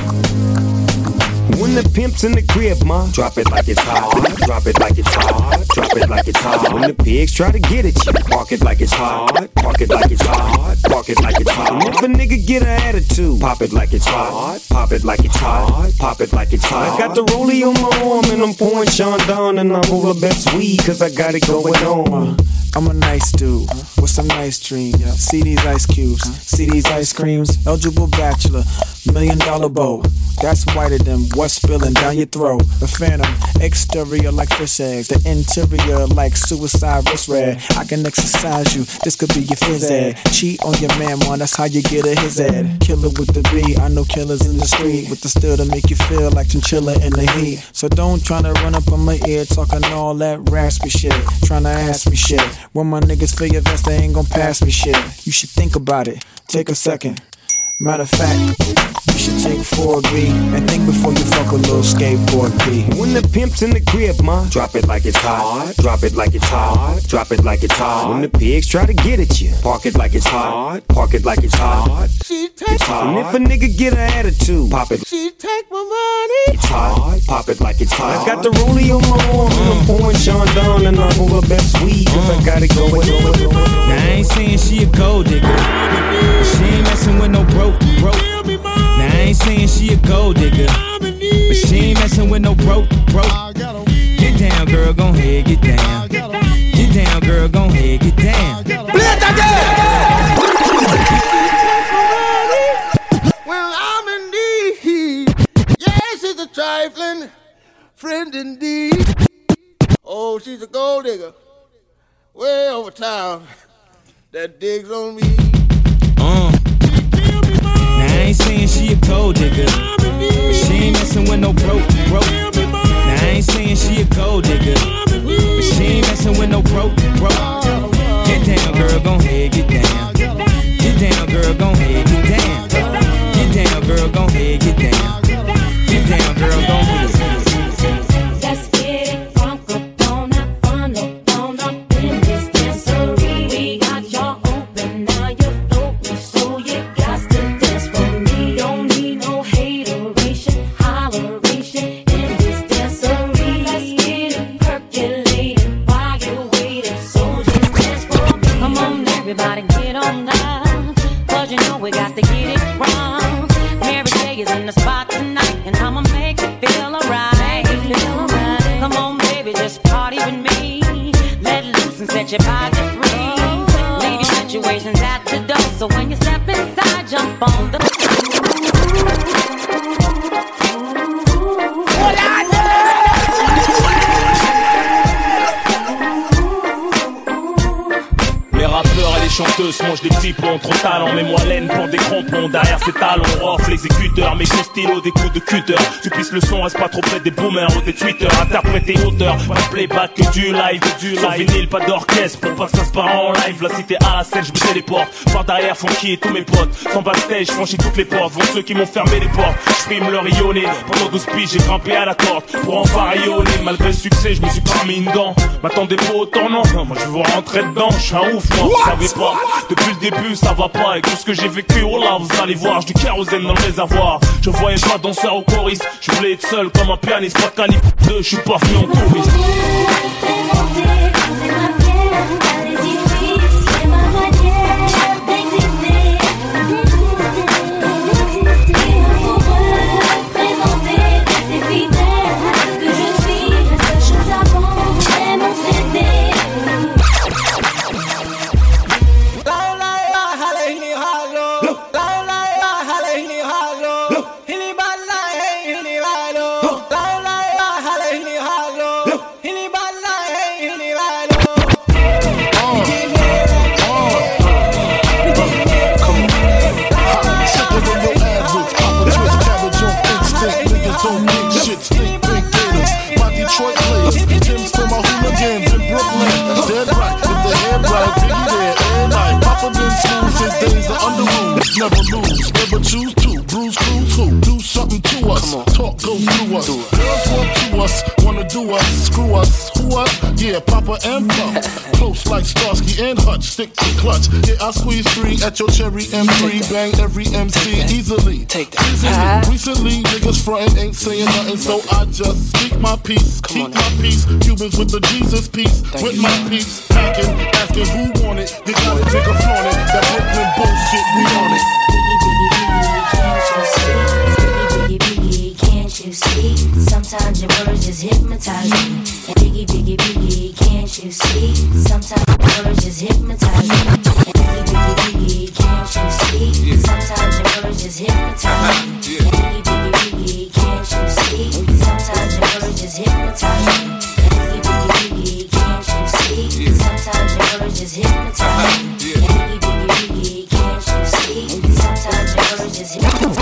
S7: When the pimp's in the crib, ma, drop it like it's hot. Drop it like it's hot. Drop it like it's hot. When the pigs try to get at you, park it like it's hot. Park it like it's hot. Park it like it's hot. And if a nigga get an attitude, pop it like it's hot. Pop it like it's hot. Pop it like it's hot. I got the rollie on my arm and I'm pouring Sean down and I'm roll the best weed cause I got it going on.
S8: I'm a nice dude with some nice dreams. See these ice cubes, see these ice creams. Eligible bachelor, $1 million bow. That's whiter than what's spilling down your throat. The phantom, exterior like fish eggs. The interior like suicide wrist red. I can exercise you, this could be your phys ed. Cheat on your man, man, that's how you get a his ed. Killer with the B, I know killers in the street. With the still to make you feel like chinchilla in the heat. So don't tryna run up on my ear talking all that raspy shit. Tryna ask me shit. When my niggas feel your vest, they ain't gon' pass me shit. You should think about it, take a second. Matter of fact, you should take 4B and think before you fuck a little skateboard P.
S7: When the pimp's in the crib, ma, drop it like it's hot. Drop it like it's hot. Drop it like it's hot. When the pigs try to get at you, park it like it's hot. Park it like it's hot.
S2: She take
S7: and if a nigga get an attitude, pop it.
S2: She take my money.
S7: It's hot. Pop it like it's hot. I got the rollie on my arm and I'm pouring Sean down and I'm roll the best weed cause I got it going.
S6: Now I ain't saying she a gold digger, but she ain't messing with no broke. Now I ain't saying she a gold digger, but she ain't messing with no broke. Get down, girl, gon' head, get down. Get down, girl, gon' head, get down.
S11: Play it again!
S2: Well, I'm in need. Yes, she's a trifling friend indeed. Oh, she's a gold digger. Way over town. That digs on me.
S6: Now I ain't saying she a gold digger, but she ain't messing with no broke. Now I ain't saying she a gold digger, but she ain't messing with no broke. Get down, girl, gon' head, get down. Get down, girl, gon' head, get down. Get down, girl, gon' head, get down. Get down, girl, gon' head.
S16: Let's get it crunk up on that funnel, on up in this dancery. We got y'all open, now you're floating so
S10: is in the spot tonight, and I'ma make you feel alright. Come on, baby, just party with me. Let loose and set your body free. Leave your situations at the door, so when you step inside, jump on the.
S13: Les rappeurs et les chanteuses mangent des petits plombs, trop talent, mets-moi laine, prends des crampons derrière ces talons, off l'exécuteur, mes coups stylo, des coups de cutter, tu pisses le son, reste pas trop près des boomers ou des tweeters, interpréter auteur, pas de playback que du live, sans vinyle, pas d'orchestre, pour pas que ça se part en live, la cité à la scène, je me téléporte, par derrière Funky et tous mes potes, sans backstage, franchis toutes les portes, vont ceux qui m'ont fermé les portes, je frime leur rayonner, pendant 12 piges, j'ai grimpé à la corde, pour enfin rayonner, malgré le succès, je me suis pas mis une dent, m'attendez pas au tournant, moi je veux vous rentrer dedans, je suis un ouf, moi, vous savez pas. Depuis le début ça va pas, avec tout ce que j'ai vécu, oh là vous allez voir, j'ai du kérosène dans le réservoir. Je voyais pas danseur au choriste, je voulais être seul comme un pianiste, pas de calibre 2, je suis pas venu en touriste.
S19: Never lose, never choose to bruise, cruise, who do something to us. Talk goes through us. Girls want to us, wanna do us, screw us, who us? Yeah, Papa and Pump. Close like Starsky and Hutch, stick to clutch. Yeah, I squeeze 3 at your cherry M3, bang every MC easily. Take that. Recently, niggas frontin' ain't saying nothing, so I just speak my peace, keep my peace. Cubans with the Jesus peace, with my peace. Packing, asking who want it. They got it, nigga flaunt it. That Brooklyn bullshit, we on it.
S20: Can't you see? Sometimes your words just hypnotize me. And biggie, biggie, biggie, can't you see? Sometimes your words just hypnotize me. And biggie, biggie, biggie, can't you see? Sometimes your words just hypnotize me. And biggie, biggie, biggie, can't you see? Sometimes your words just hypnotize me. And biggie, biggie, biggie, can't you see? Sometimes your words just hypnotize me. And biggie, biggie, biggie, can't you see? Sometimes your words just hypnotize me.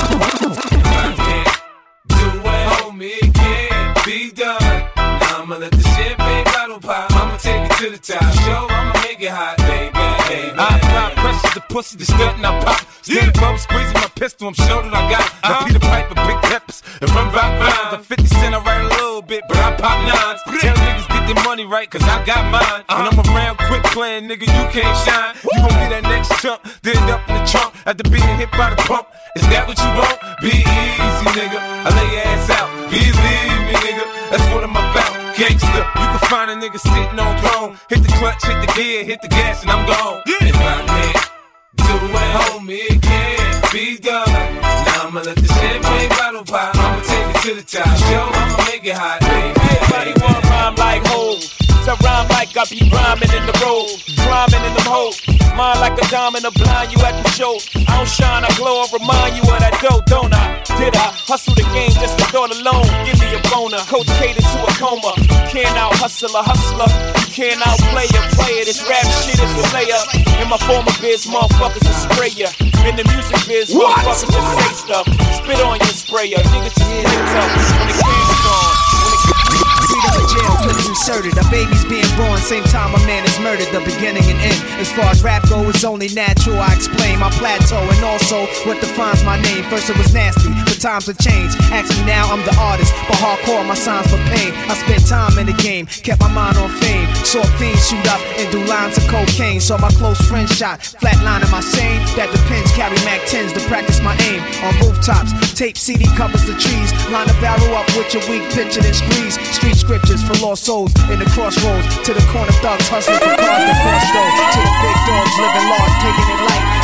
S24: It can't be done. Now I'ma let the champagne bottle pop. I'ma take it to the top. Show I'ma make it hot, baby. I apply pressure to pussy, the stunt and I pop. Stand above, squeezing my pistol, I'm sure that I got it. I Peter Piper, big peppers, and run rock rhymes. I'm 50 Cent, I write a little bit, but I pop nines. Tell niggas get their money right, cause I got mine. When I'm around quick playing, nigga, you can't shine. You gon' be that next chump, then end up in the trunk after being hit by the pump. Is that what you want? Be easy, nigga. I lay your ass out. Believe me, nigga. That's what I'm about. Gangsta. You can find a nigga sitting on throne. Hit the clutch, hit the gear, hit the gas, and I'm gone. If I can't do it, homie, it can't be done. Now I'ma let the champagne bottle pop. I'ma take it to the top. Show I'ma make it hot, baby.
S17: Everybody want rhyme like hoes. I rhyme like I be rhyming in the road, rhyming in them hoes. Mine like a diamond, a blind you at the show. I don't shine, I glow, I remind you of that dough, don't I? Did I hustle the game just to thought alone? Give me a boner, coach catered to a coma. You can't out hustle a hustler, you can't outplay a player. This rap shit is a layup. In my former biz, motherfuckers will spray ya. In the music biz, motherfuckers just say stuff. Spit on your sprayer, niggas just play tough. When the camera's on,
S18: freedom of jail, cause it's inserted. A baby's being born, same time a man is murdered. The beginning and end. As far as rap go, it's only natural. I explain my plateau and also what defines my name. First it was nasty, but times have changed. Ask me now, I'm the artist, but hardcore, my signs for pain. I spent time in the game, kept my mind on fame. Saw fiends shoot up and do lines of cocaine. Saw my close friend shot, flatlining my sane. That depends, carry Mac 10s to practice my aim. On rooftops, tape CD covers the trees. Line a barrel up with your weak picture and squeeze. Street scriptures for lost souls in the crossroads. To the corner thugs hustling for cars that cross roads. To the big dogs living large, taking it light.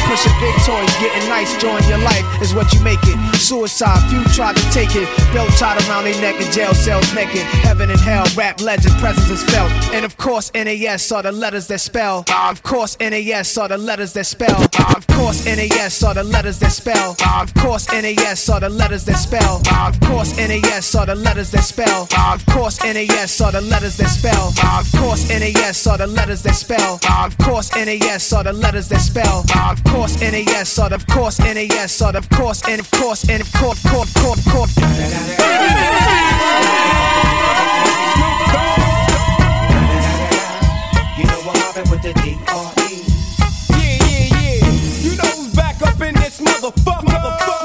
S18: Pushing big toys, getting nice, join your life is what you make it. Suicide, few tried to take it. Belt tied around their neck in jail cells naked. Heaven and hell, rap legend, presence is felt. And of course, NAS are the letters that spell. Of course, NAS are the letters that spell. Of course, NAS are the letters that spell. Of course, NAS are the letters that spell. Of course, NAS are the letters that spell. Of course, NAS are the letters that spell. Of course, NAS are the letters that spell. Of course, NAS are the letters that spell. Of course, NAS are the, of course, NAS are the, of course, and of course, and of course, court.
S4: You know what happened with the D.R.E.
S12: Yeah. You know who's back up in this motherfucker.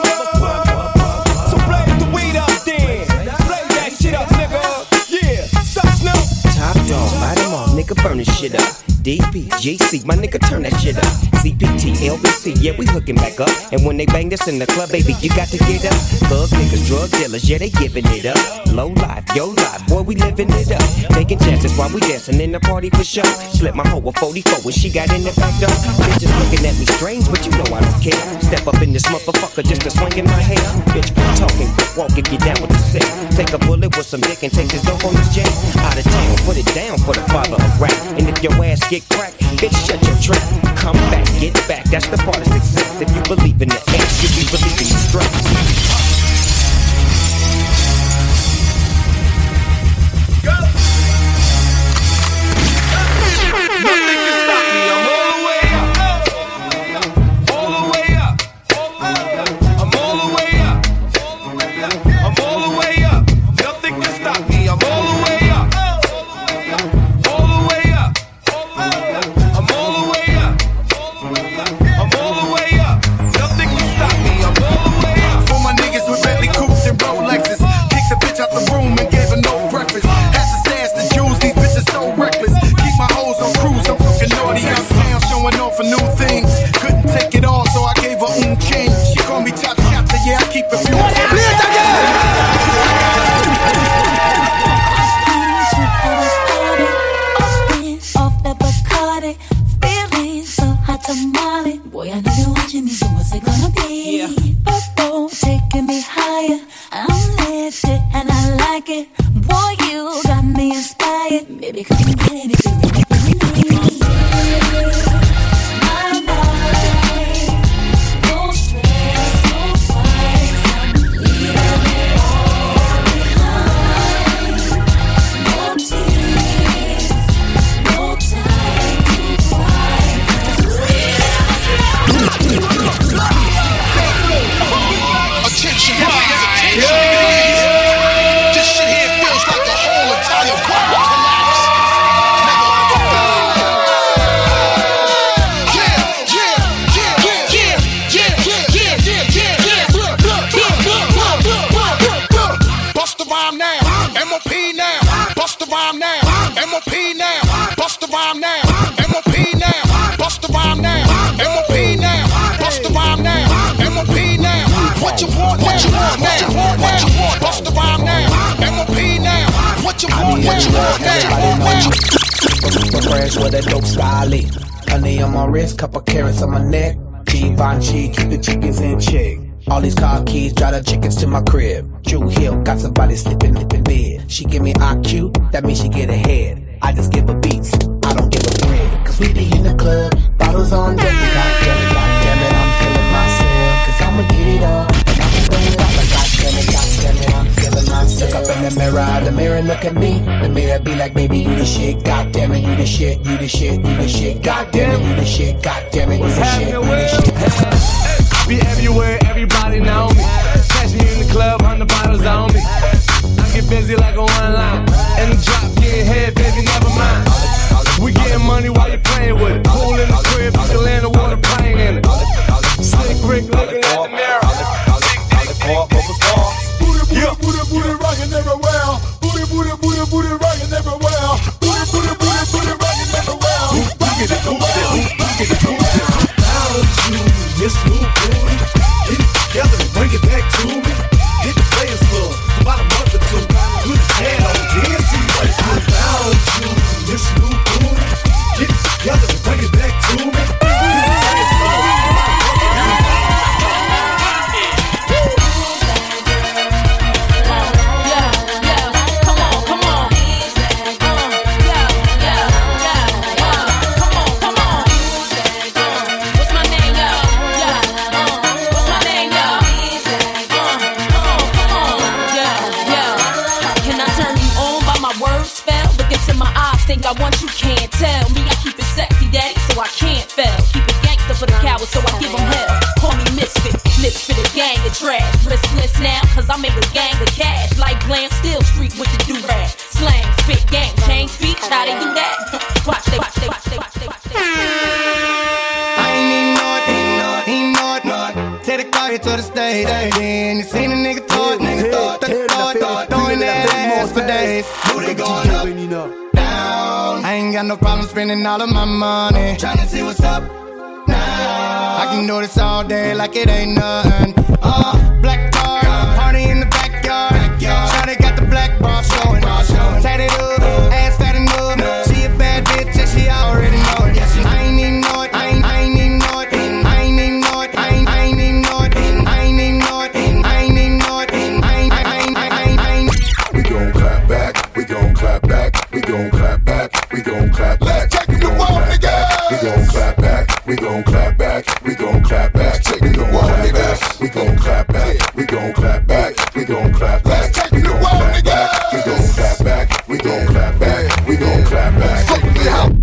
S12: So blaze the weed up then. Blaze that shit up, nigga. Yeah, sup, Snoop?
S7: Top dog, light them all, nigga, burn this shit up. DP, GC, my nigga, turn that shit up. CPT, LBC, yeah, we hooking back up. And when they bang this in the club, baby, you got to get up. Thug niggas, drug dealers, yeah, they giving it up. Low life, yo life, boy, we living it up. Taking chances while we dancing in the party for sure. Slip my hoe a 44 when she got in the back door. Bitches looking at me strange, but you know I don't care. Step up in this motherfucker just to swing in my hair. Bitch, quit talking, quick walk if you down with the sick. Take a bullet with some dick and take this dope on this jet. Out of town, put it down for the father of rap. And if your ass get cracked, bitch, shut your trap. Come back, get back, that's the part of success. If you believe in the X, you be believing the stress.
S12: Nothing can stop me, I'm all the way up. All the way up. I'm all the way up. I'm all the way up. Nothing can stop me, I'm all the way up. All the way up. I'm all the way up. I'm all the way up. Nothing can stop me, I'm all the way up.
S21: For my niggas with Bentley coupes and Rolexes, kicked the bitch out the room and gave her no breakfast. Had to stash the jewels, these bitches so reckless. My hoes on cruise, I'm fucking naughty uptown, showing off for new things. Couldn't take it all, so I gave her change. She called me top shot, so yeah, I keep it few.
S16: Off the Bacardi, feeling so hot tamale. Boy, I know you're watching me, so what's it gonna be? Purple, taking me higher. I'm lifted and I like it. Boy, you got me inspired. Baby, come and get it if you really, really need. My mind, no stress, no fights. I'm leaving it all behind. No tears, no time to cry.
S21: Attention, this shit here feels like the whole entire world collapse. Bust the rhyme now, MOP now. Bust the rhyme now, MOP now. Bust the rhyme now, MOP now. Bust the rhyme now, MOP now. Bust the rhyme now, MOP now. What you want, what you want, what you want, what you want. Bust the rhyme now, MOP now. What you want, what you want, what you want, what you want.
S5: Fresh with a dope style. Honey on my wrist, couple carrots on my neck. Givenchy, keep the chickens in check. All these car keys, drive the chickens to my crib. Drew Hill, got somebody sleeping in bed. She give me IQ, that means she get ahead. I just give her beats, I don't give a bread. Cause we be in the club, bottles on deck. Goddamn it, I'm feeling myself. Cause I'ma get it all, and I'ma bring it up. But goddamn it, I'm feeling myself. Look up in the mirror look at me. The mirror be like, baby, you the shit. Goddamn it, you the shit, you the shit, you the shit. Goddamn it, you the shit. Goddamn it, you the shit, you the shit.
S12: Be everywhere, everybody know me. Catch me in the club, 100 bottles on me. I get busy like a one line. In the drop, get head, baby, never mind. We getting money while you playing with it. Pool in the crib, you can land a water plane in it. Slick Rick looking at the mirror.
S19: Booty rockin' everywhere. Booty rockin' everywhere. Booty rockin' everywhere. Rockin' everywhere.
S3: Yes, move booty. Get it together and bring it back to me. Hit the players club for about a month or two. Put his hand on the DNC right now. Found you. Yes, move booty. Get it together and bring it back to me. Hit the players club for about a
S9: tell me I keep it sexy, daddy, so I can't fail. Keep it gangster for the cowards, so I give them hell. Call me misfit, lips for the gang of trash. Riskless now, cause I make a gang of cash. Like glam, still street with the do-rag. Slang, spit, gang, change speech, how they do that? Watch they.
S14: I ain't even know it. Take the car here to the stage. Then you seen a nigga thought, throwing that ass for days. Booty going up, down. I ain't got no problem spending all of my money. Tryna see what's up now. I can do this all day like it ain't nothing. Black car, party in the backyard. Shawty got the black bra showing. Tatted up, ass fat and up. She a bad bitch and she already know it. I ain't even know it. I ain't even know it. I ain't even know it. I ain't even know it. I ain't even know it. I ain't even know it. I ain't.
S21: We gon' clap back. We gon' clap back. We gon' clap back. We gon' clap back. Let's take the wall, nigga. We gon' clap back. We gon' clap back. We gon' clap back. Take the wall, nigga. We gon' clap back. We gon' clap back. We gon' clap back. Let's take the wall, nigga. We gon' clap back. We gon' clap back. We gon' clap back. Fuck with the house.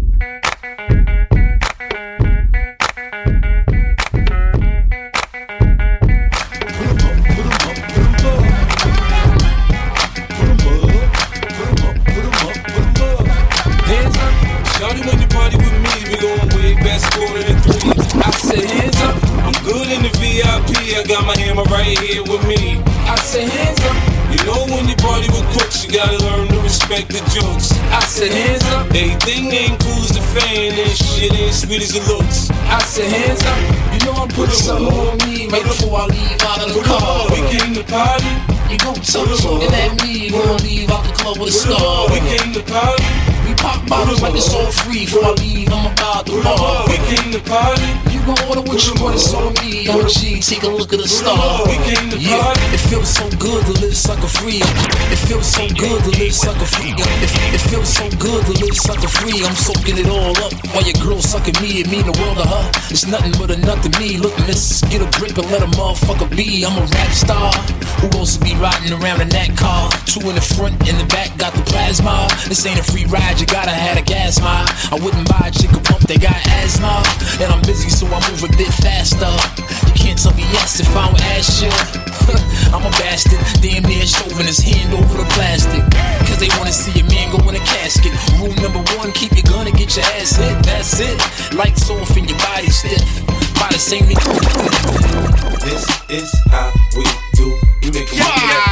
S6: Shawty, when you party with me, we going way back, quarter to 3. I say hands up, I'm good in the VIP. I got my hammer right here with me. I say hands up, you know when you party with crooks, you gotta learn to respect the jokes. I say hands up, everything ain't cool as the fan, and shit ain't sweet as it looks. I say hands up, you know I'm putting something on me right before I leave out of the car. We came to party, you gon' touch looking at me, gonna leave out the club with a star. We came to party. We pop bottles like it's all free. Before I leave, I'm about the bar. We came to party. You gon' order what you want, it's on me. OG, take a look at the star. We came to party. It feels so good to live sucker free. It feels so good to live sucker free. It feels so good to live sucker free. I'm soaking it all up while your girl sucking me. It mean the world to her. It's nothing but a nut to me. Look, miss, get a grip and let a motherfucker be. I'm a rap star. Who else to be riding around in that car? 2 in the front, in the back, got the plasma. This ain't a free ride. You gotta have a gas mile. I wouldn't buy a chick a pump, they got asthma. And I'm busy, so I move a bit faster. You can't tell me yes if I don't ask you. I'm a bastard, damn near shoving his hand over the plastic. Cause they wanna see a man go in a casket. Rule number 1, keep your gun and get your ass hit. That's it. Lights off and your body stiff. By the same nigga. This is how we do. We make a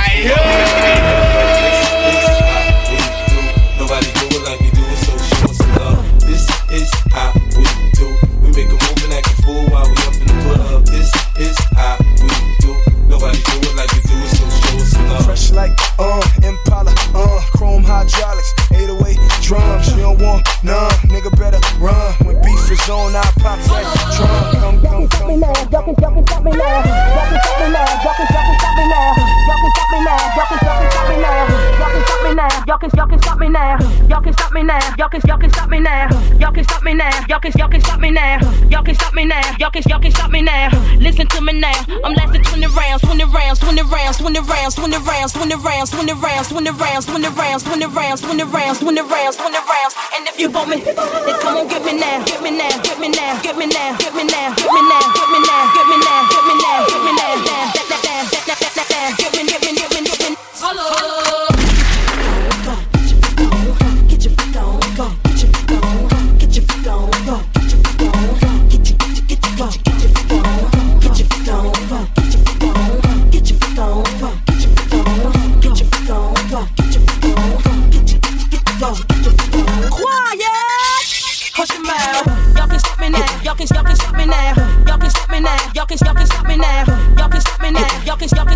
S6: Nobody do it like we do it, so show us some love. This is how we do. We make a move and act a fool while we up in the club. This is how we do. Nobody do it like we do it, so show us some love.
S3: Fresh like Impala, chrome hydraulics, 808 drums. You don't want none, nigga better run. When beef is on, I pop that drum. Come. Y'all can stop me now. Y'all can stop me now. Y'all can stop me now. Y'all can stop me now. Y'all can stop me now. Y'all can stop me now. Y'all can stop me now. Y'all can stop me now. Y'all can stop me now. Y'all can stop me now. Y'all can stop me now. Y'all can stop me now. Y'all can stop me now. Y'all can stop me now. Listen to me now. I'm lasting 20 rounds, 20 rounds, 20 rounds, 20 rounds, 20 rounds, 20 rounds, 20 rounds, 20 rounds, 20 rounds, 20 rounds, 20 rounds, 20 rounds, 20 rounds. And if you want me, then come on, get me now, get me now, get me now, get me now, get me now, get me now, get me now, get me now, get me now, get me now, get me, get me. Hello. Y'all can stop me now. Y'all can stop me now. Y'all can stop me now. Y'all can stop me now. Y'all can stop me now. Y'all can stop me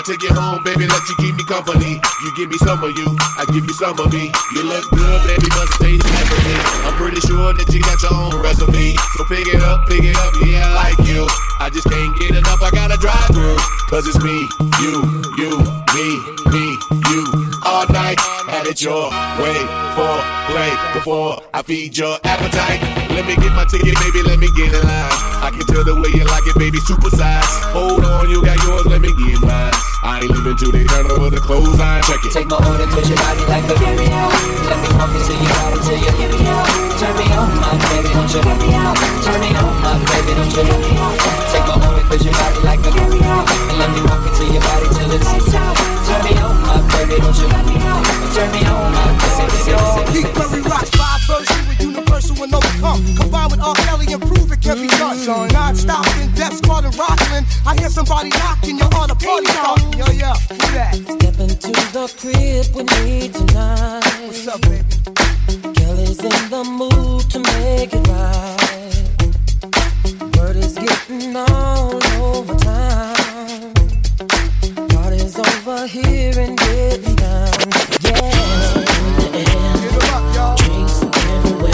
S1: take you home, baby, let you keep me company. You give me some of you, I give you some of me. You look good, baby, must taste heavenly. I'm pretty sure that you got your own recipe. So pick it up, yeah, I like you. I just can't get enough, I gotta drive through. Cause it's me, you, me, you. All night, had it your way for play before I feed your appetite. Let me get my ticket, baby, let me get in line. I can tell the way you like it, baby, super size. Hold on, you got yours, let me get mine. I ain't leaving till they turn over the clothesline, check it.
S15: Take my order, put your body like a video. Let me walk into your body till you give me out. Turn me on, my baby, don't you let me out. Turn me on, my baby, don't you let me out. Take my order, put your body like a video. And let me walk into your body till it's out. Turn me on, my baby, don't you let me out. Turn me on, my baby.
S22: Keith Murray rocks 5 versions with universal and overcome. Combined with R. Kelly and prove it can be done. Non-stop in depth, squad and Rockland. I hear somebody knocking, you're on a party starting. Yo, who that?
S15: Step into the crib with me tonight.
S22: What's up, baby?
S15: Kelly's in the mood to make it right. Word is getting all over town. Party's over here and getting down. Yeah. Drinks everywhere.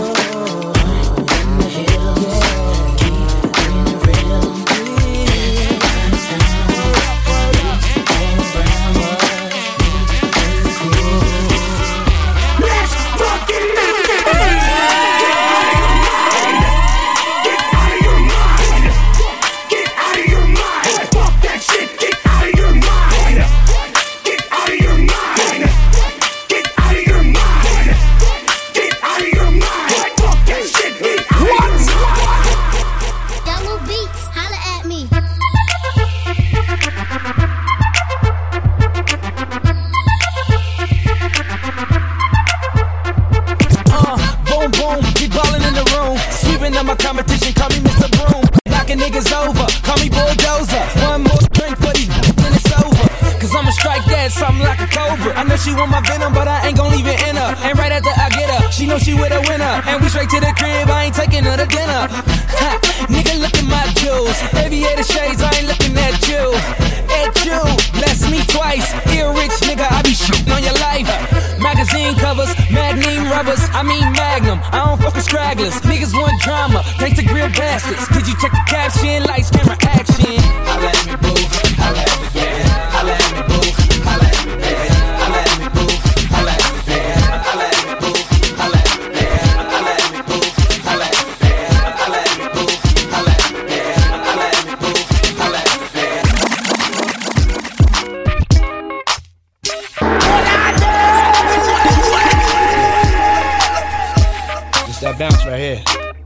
S15: In the hills. Yeah. Keep it real.
S7: She want my venom, but I ain't gon' leave it in her. And right after I get her, she know she with a winner. And we straight to the crib, I ain't taking her to dinner. Ha, nigga, look at my jewels. Aviator shades, I ain't looking at you. At you, bless me twice. Ear rich, nigga, I be shooting on your life. Magazine covers, magnum rubbers, I mean magnum. I don't fuck with stragglers. Niggas want drama, thanks to real bastards. Did you check the caption? Lights, camera, action.
S15: Holla at me, boo. Holla at me, yeah. Holla at me, boo. Holla at me, baby.
S7: That bounce right here.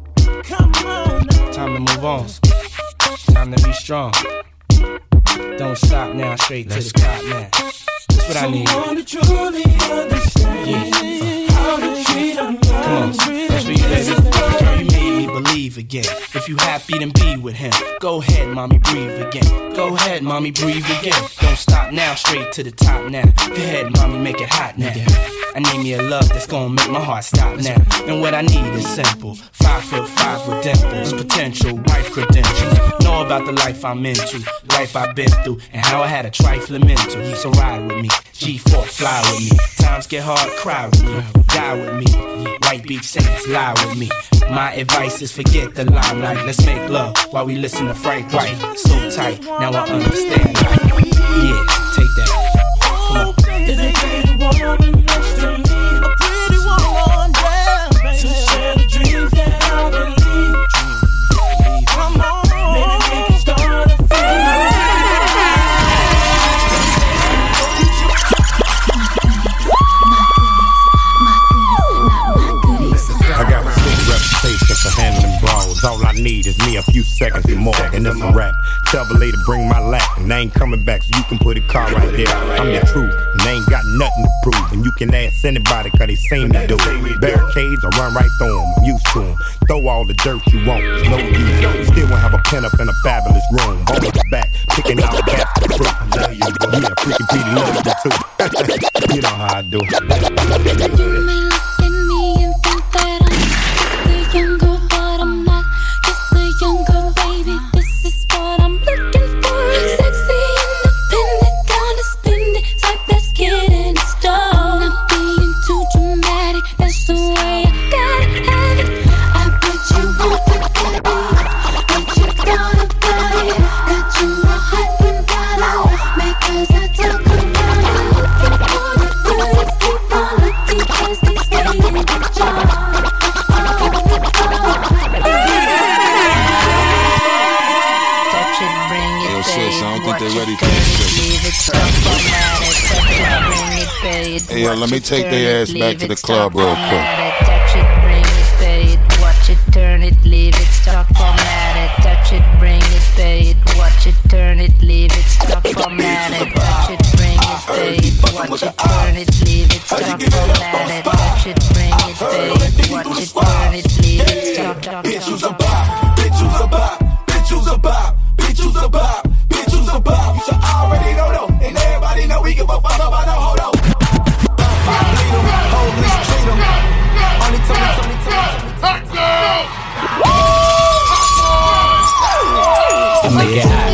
S7: Time to move on. Time to be strong. Don't stop now, straight to the top now. That's what I need. Come on, that's for you, baby. Girl, you made me believe again. If you happy, then be with him. Go ahead, mommy, breathe again. Go ahead, mommy, breathe again. Don't stop now, straight to the top now. Go ahead, mommy, make it hot now. I need me a love that's gonna make my heart stop now. And what I need is simple. 5'5" with dimples, potential wife credentials. Know about the life I'm into, life I've been through, and how I had a trifling mental. So ride with me, G4, fly with me. Times get hard, cry with me, die with me. White Beach Saints, lie with me. My advice is forget the limelight. Let's make love while we listen to Frank White. So tight, now I understand life. Yeah, take that. Come on.
S15: Is it pretty woman next to me? A pretty woman, yeah, baby. To share the dreams that I believe. Come on, maybe we can start a family.
S23: I got a big reputation for handling brawls. All I need is me a few seconds or more, and it's a rap. Tell the lady bring my lap, and I ain't coming back, so you can put a car right there. I'm the truth, and they ain't got nothing to prove. And you can ask anybody, cause they seen me do it. Barricades, I run right through them, I'm used to them. Throw all the dirt you want, there's no use. Still won't have a pen up in a fabulous room. On the back, picking out the fruit. I love you, bro. Yeah, freaking Petey love you too. You know how I do.
S16: You may look at me and think that I'm just a young girl, but I'm not just a young girl, baby. This is what I'm looking for. Sexy, independent,
S2: Hey, yo, let me take their ass back to the club real quick.
S16: Touch it, bring it, pay it, watch it, turn it, leave it, stop, format it. Touch it, bring it, pay it, watch it, turn it, leave it, stop, format it. Touch it, bring it, pay it, watch it, turn it, leave it, stop, format it. Touch it, bring it, pay it, watch it, turn it, leave it, stop.
S12: Bitch, who's a bop? Bitch, who's a bop? Bitch, who's a bop? Bitch, who's a bop? Bitch, who's a bop? You should already know though, and everybody know we give a fuck about no hold on. Bleed 'em, hold me, treat 'em. Only tell me.
S7: Make it hot.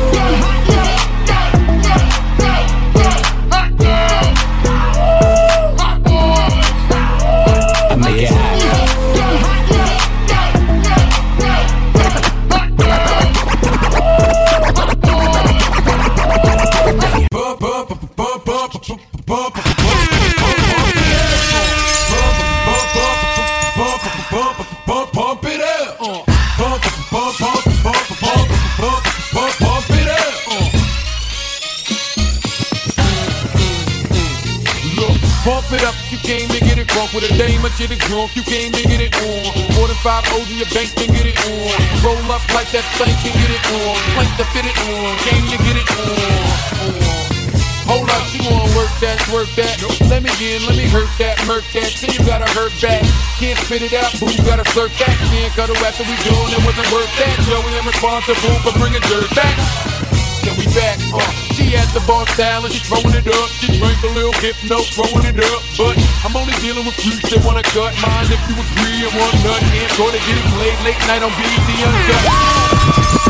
S8: Pump it up, you came to get it drunk with a dame, shit is drunk, you came to get it on. More than 5 O's in your bank, can get it on. Roll up like that thing, can get it on. Plank to fit it on, came to get it on. Hold up, you wanna work that, Let me hurt that, murk that. Till you gotta hurt back. Can't spit it out, boo, you gotta slurp that. Can't cut it after we doing it wasn't worth that. Joey, I'm responsible for bringing dirt back. Then we back, she at the bar style and she throwing it up. She drank a little hypno, throwing it up. But I'm only dealing with freaks that wanna cut mine. If you agree and want nut, can't go to get it played late night on BET Uncut.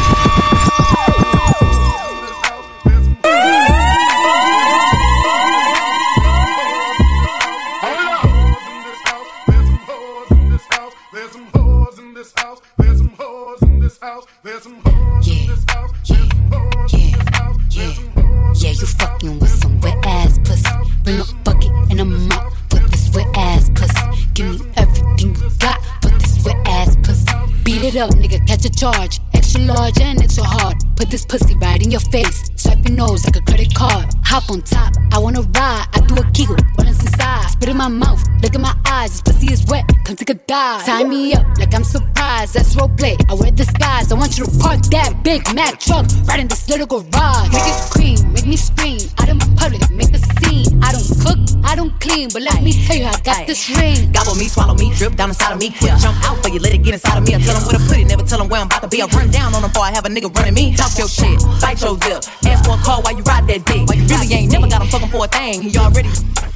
S16: Yeah, you fucking with some wet ass pussy. Bring a bucket and a mop for this wet ass pussy. Give me everything you got for this wet ass pussy. Beat it up, nigga, catch a charge. Extra large and extra hard. Put this pussy right in your face. Swipe your nose like a credit card. Hop on top, I wanna ride. I do a kegel, what is inside? Spit in my mouth, look in my eyes. This pussy is wet, come take a dive. Tie me up like I'm surprised, that's roleplay. I wear disguise, I want you to park that Big Mac truck right in this little garage. Make it cream, make me scream. Out in public, make a scene. I don't cook, I don't clean, but let me tell you, I got this ring.
S10: Gobble me, swallow me, drip down inside of me. Quick jump out for you, let it get inside of me. I tell them where to put it, never tell them where I'm about to be. I run down on them before I have a nigga running me. Talk your shit, bite your lip. Ask for a call while you ride that dick. While you really ain't never got him fucking for a thing. He already.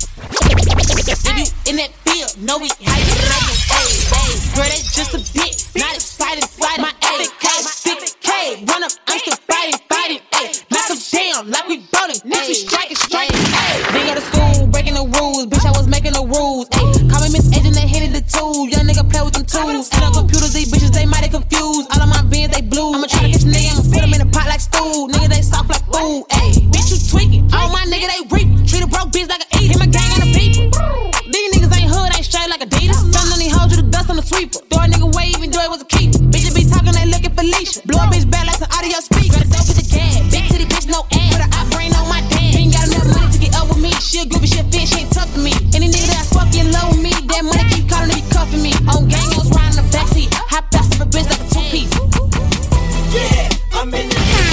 S11: If you in that field, know we hype it like a girl, that's just a bit. Not excited, my A, 6K, run up, I'm still fighting, ayy. Knock them down like we bowling, bitch, we striking, ayy. Been out of school, breaking the rules, bitch, I was making the rules, ayy. Call me Miss Agent, they hated the tools, young nigga play with them tools. And on computers, these bitches, they mighty confused. All of my beans, they blue. I'ma try to catch a nigga, I'ma put him in a pot like stool. Nigga, they soft like food, ayy. Bitch, you tweaking, all my nigga, they reaping. Treat a broke bitch like an eater, hit my gang on the people. These niggas ain't hood, ain't straight like Adidas. Some of these hoes you the dust on the sweeper. Do a nigga way, even though it was a keeper. Bitches be talking, they looking for Leisha. Blow a bitch back like some audio speaker. Gotta dope with the gas. Big titty bitch, no ass. Put her eye brain on my dad. Ain't got enough money to get up with me. She'll give a shit fit, she ain't tough to me. Any nigga that fucking low with me, that money keep calling, they be cuffing me. On gang, I was riding the backseat. Hop past of a bitch like a 2-piece.
S12: Yeah, I'm in the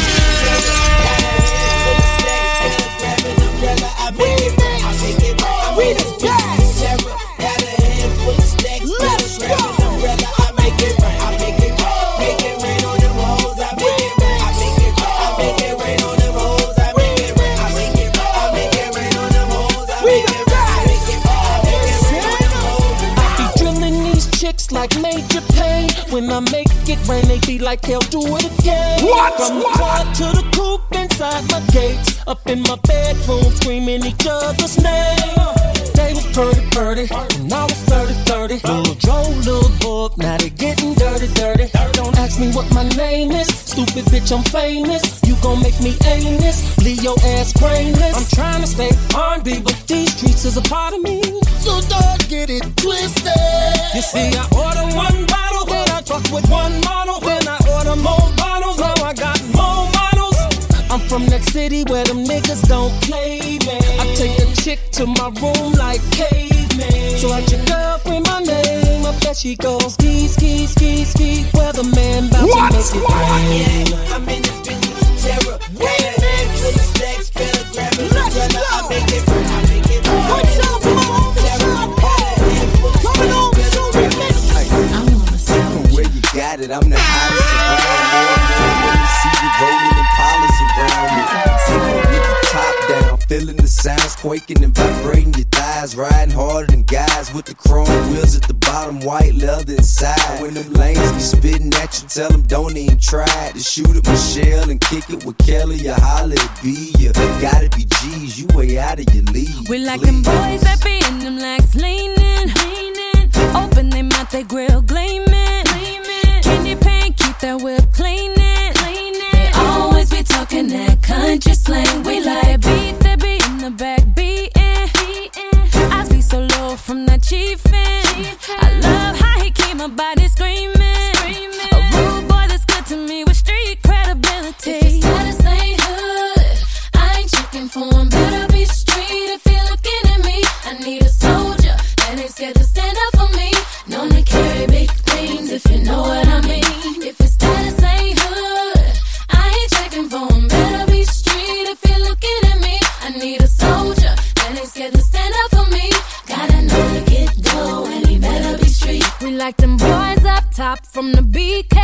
S25: like Major Payne. When I make it rain, they be like, hell, do it again.
S12: What?
S25: From the car to the coupe inside my gates. Up in my bedroom, screaming each other's name. They was purdy, and I was 30. Little Joe, little book, now they getting dirty. Don't ask me what my name is. Stupid bitch, I'm famous. You gon' make me aimless, leave your ass brainless. I'm trying to stay R&B, but these streets is a part of me. So don't get it twisted. You see, I order one bottle, then I fuck with one model. Then I order more bottles, now I got more models. I'm from that city where them niggas don't play, man. I take a chick to my room like caveman. So at your girlfriend my name, I bet she goes ski, ski, ski, ski. Weatherman bout to make it rain.
S13: I'm in this bitch with terror. Stacks, pentagram, and I make it rain. I make it rain. What's up, coming on, where you got it? I'm the hottest around. More when you see you rolling Impalas around me. With the top down, feeling the sounds quaking and vibrating your thighs, riding harder than guys with the chrome wheels at the bottom, white leather inside. When them lanes be spitting at you, tell them don't even try to shoot at Michelle and kick it with Kelly or holla at B. You gotta be G's, you way out of your league.
S17: We like them boys that be in them legs leaning, open them mouth, they grill gleaming. Candy paint, keep that whip cleaning. They always be talking that country slang. We like beat that be in the back beating. I be so low from that chiefin'. I love how he keep my body screaming. A rude boy that's good to me with street credibility.
S9: If his status ain't hood, I ain't checking for him. Better be street if he looking at me. I need a soldier that ain't scared to stand up for me. Known to carry big things if you know what I mean. If his status ain't hood, I ain't checking for him. Better be street if he looking at me. I need a soldier that ain't scared to stand up for me. Gotta know to get dough and he better be street.
S17: We like them boys up top from the BK.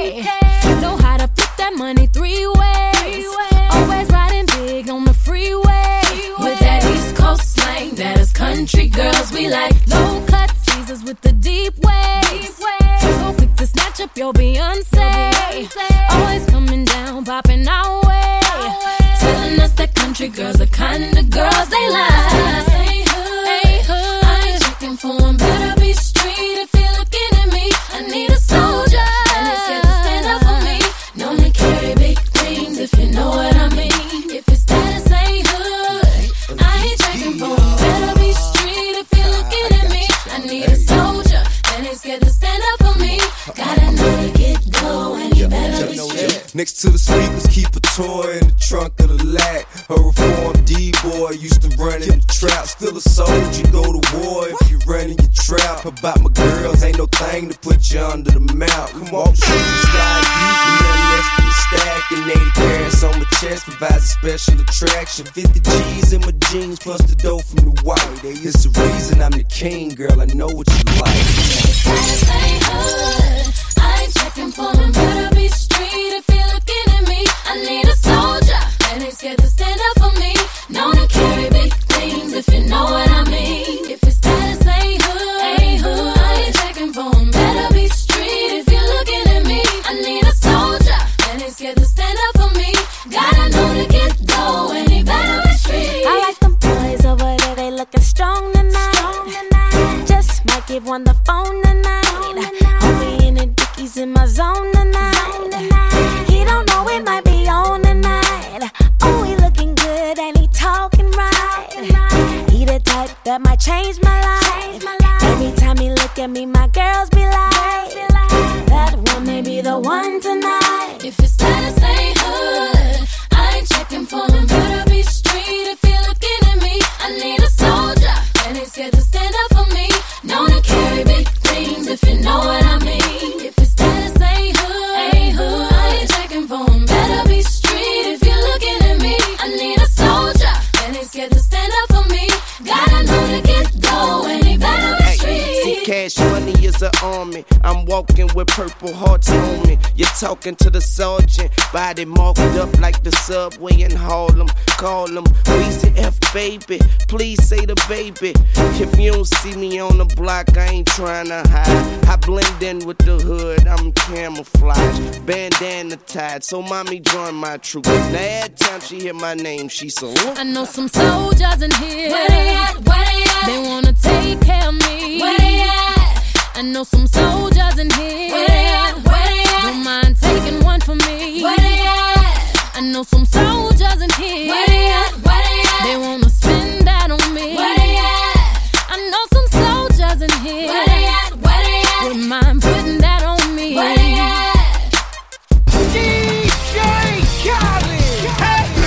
S17: Know how to flip that money 3 ways. Always riding big on the freeway.
S9: With that East Coast slang, that is country girls. We like
S17: low cut teasers with the deep waves. So quick to snatch up your Beyonce. Always coming down, popping our way.
S9: Telling us that country girls are kind of girls they like. Ain't hood, I ain't checking for him. Better be street if he looking at me. I need a soldier and he's scared to stand up for me. Known to carry big things if you know what I mean. If his status ain't hood, I ain't checking for him. Better be street if he looking at me. I need a soldier and he's scared to stand up for me. Gotta know to get dough and he better be street.
S13: Next to the speakers, keep a toy in the trunk of the lag. A reformed D-boy used to run in the trap. Still a soldier, go to war if you run in your trap. About my girls, ain't no thing to put you under the mount. Come on, show you sky deep and nothing less than a stack. And 80 carats on my chest provides a special attraction. 50 G's in my jeans plus the dough from the white. It's the reason I'm the king, girl, I know what you like.
S9: Status ain't hood, I ain't checking for him. Better be street if he looking at me. I need a soldier that ain't scared to stand up for me. Known to carry big things if you know what I mean. If his status ain't hood, I ain't checking for him. Better be street if you looking at me. I need a soldier that ain't scared to stand up for me. Gotta know to get dough and he better be street.
S17: I like them boys over there, they looking strong tonight. Just might give one the phone tonight. Homie in the dickies in my zone tonight. He don't know it might be on tonight. Oh, he looking good and he talking right. He the type that might change my life. Every time he look at me, my girls be like, that one may be the one tonight.
S9: If his status ain't hood, I ain't checking for him. Better be street if he looking at me. I need a soldier and he's scared to stand up for me. Known to carry big things if you know what I mean. If his status ain't hood, I ain't checking for him. Better be street if you're looking at me. I need a soldier and he's scared to stand up for me. Gotta know to get dough and he better be street.
S18: See, cash money is an army. I'm walking with purple hearts on me. You're talking to the sergeant, body marked up like the subway in Harlem. Call him Weezy F, baby. Please say the baby. If you don't see me on the block, I ain't trying to hide. I blend in with the hood, I'm camouflage. Bandana tied, so mommy join my troop. Now every time she hear my name, she so.
S17: I know some soldiers in here.
S9: Where they at? Where they at?
S17: They wanna take care of me.
S9: Where they at?
S17: I know some soldiers in here.
S9: Where they at? Where they at?
S17: Don't mind taking one for me.
S9: Where they at?
S17: I know some soldiers in here.
S9: Where they at? Where they at?
S17: They wanna spend that on me.
S9: Where they at?
S17: I know some soldiers in here.
S9: Where they at? Where they at?
S17: Wouldn't mind putting that on me.
S9: Where they at?
S12: DJ Khaled. Hey.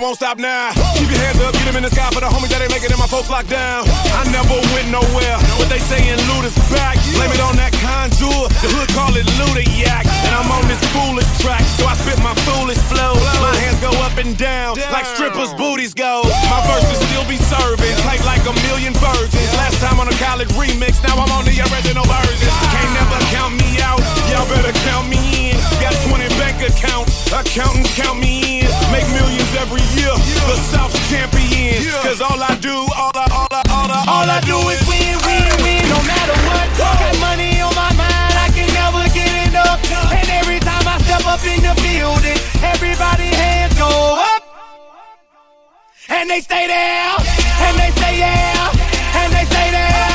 S4: won't stop now. Keep your hands up, get them in the sky for the homies that ain't making it, my folks locked down. I never went nowhere, what they saying loot is back. Blame it on that conjure, the hood call it Ludiac. And I'm on this foolish track, so I spit my foolish flow. My hands go up and down, like strippers' booties go. My verses still be serving, tight like a million virgins. Last time on a college remix, now I'm on the original version. Can't never count me out, y'all better count me in. Got 20 bank accounts, accountants count me in. Make millions every year, the South's champion. Cause all I do, all I do is win, win, win, no matter what. Got money on my mind, I can never get enough. And every time I step up in the building, everybody hands go up. And they stay there, and they say yeah, and they stay there.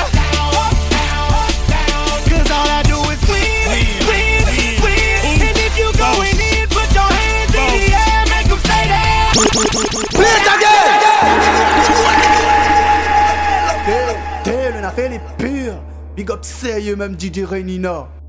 S4: Cause all I do is win, win, win. And if you going in, put your hands in the air, make them stay there.
S3: Play it again! T'es, on a fait les pires. Big up sérieux même DJ Renina.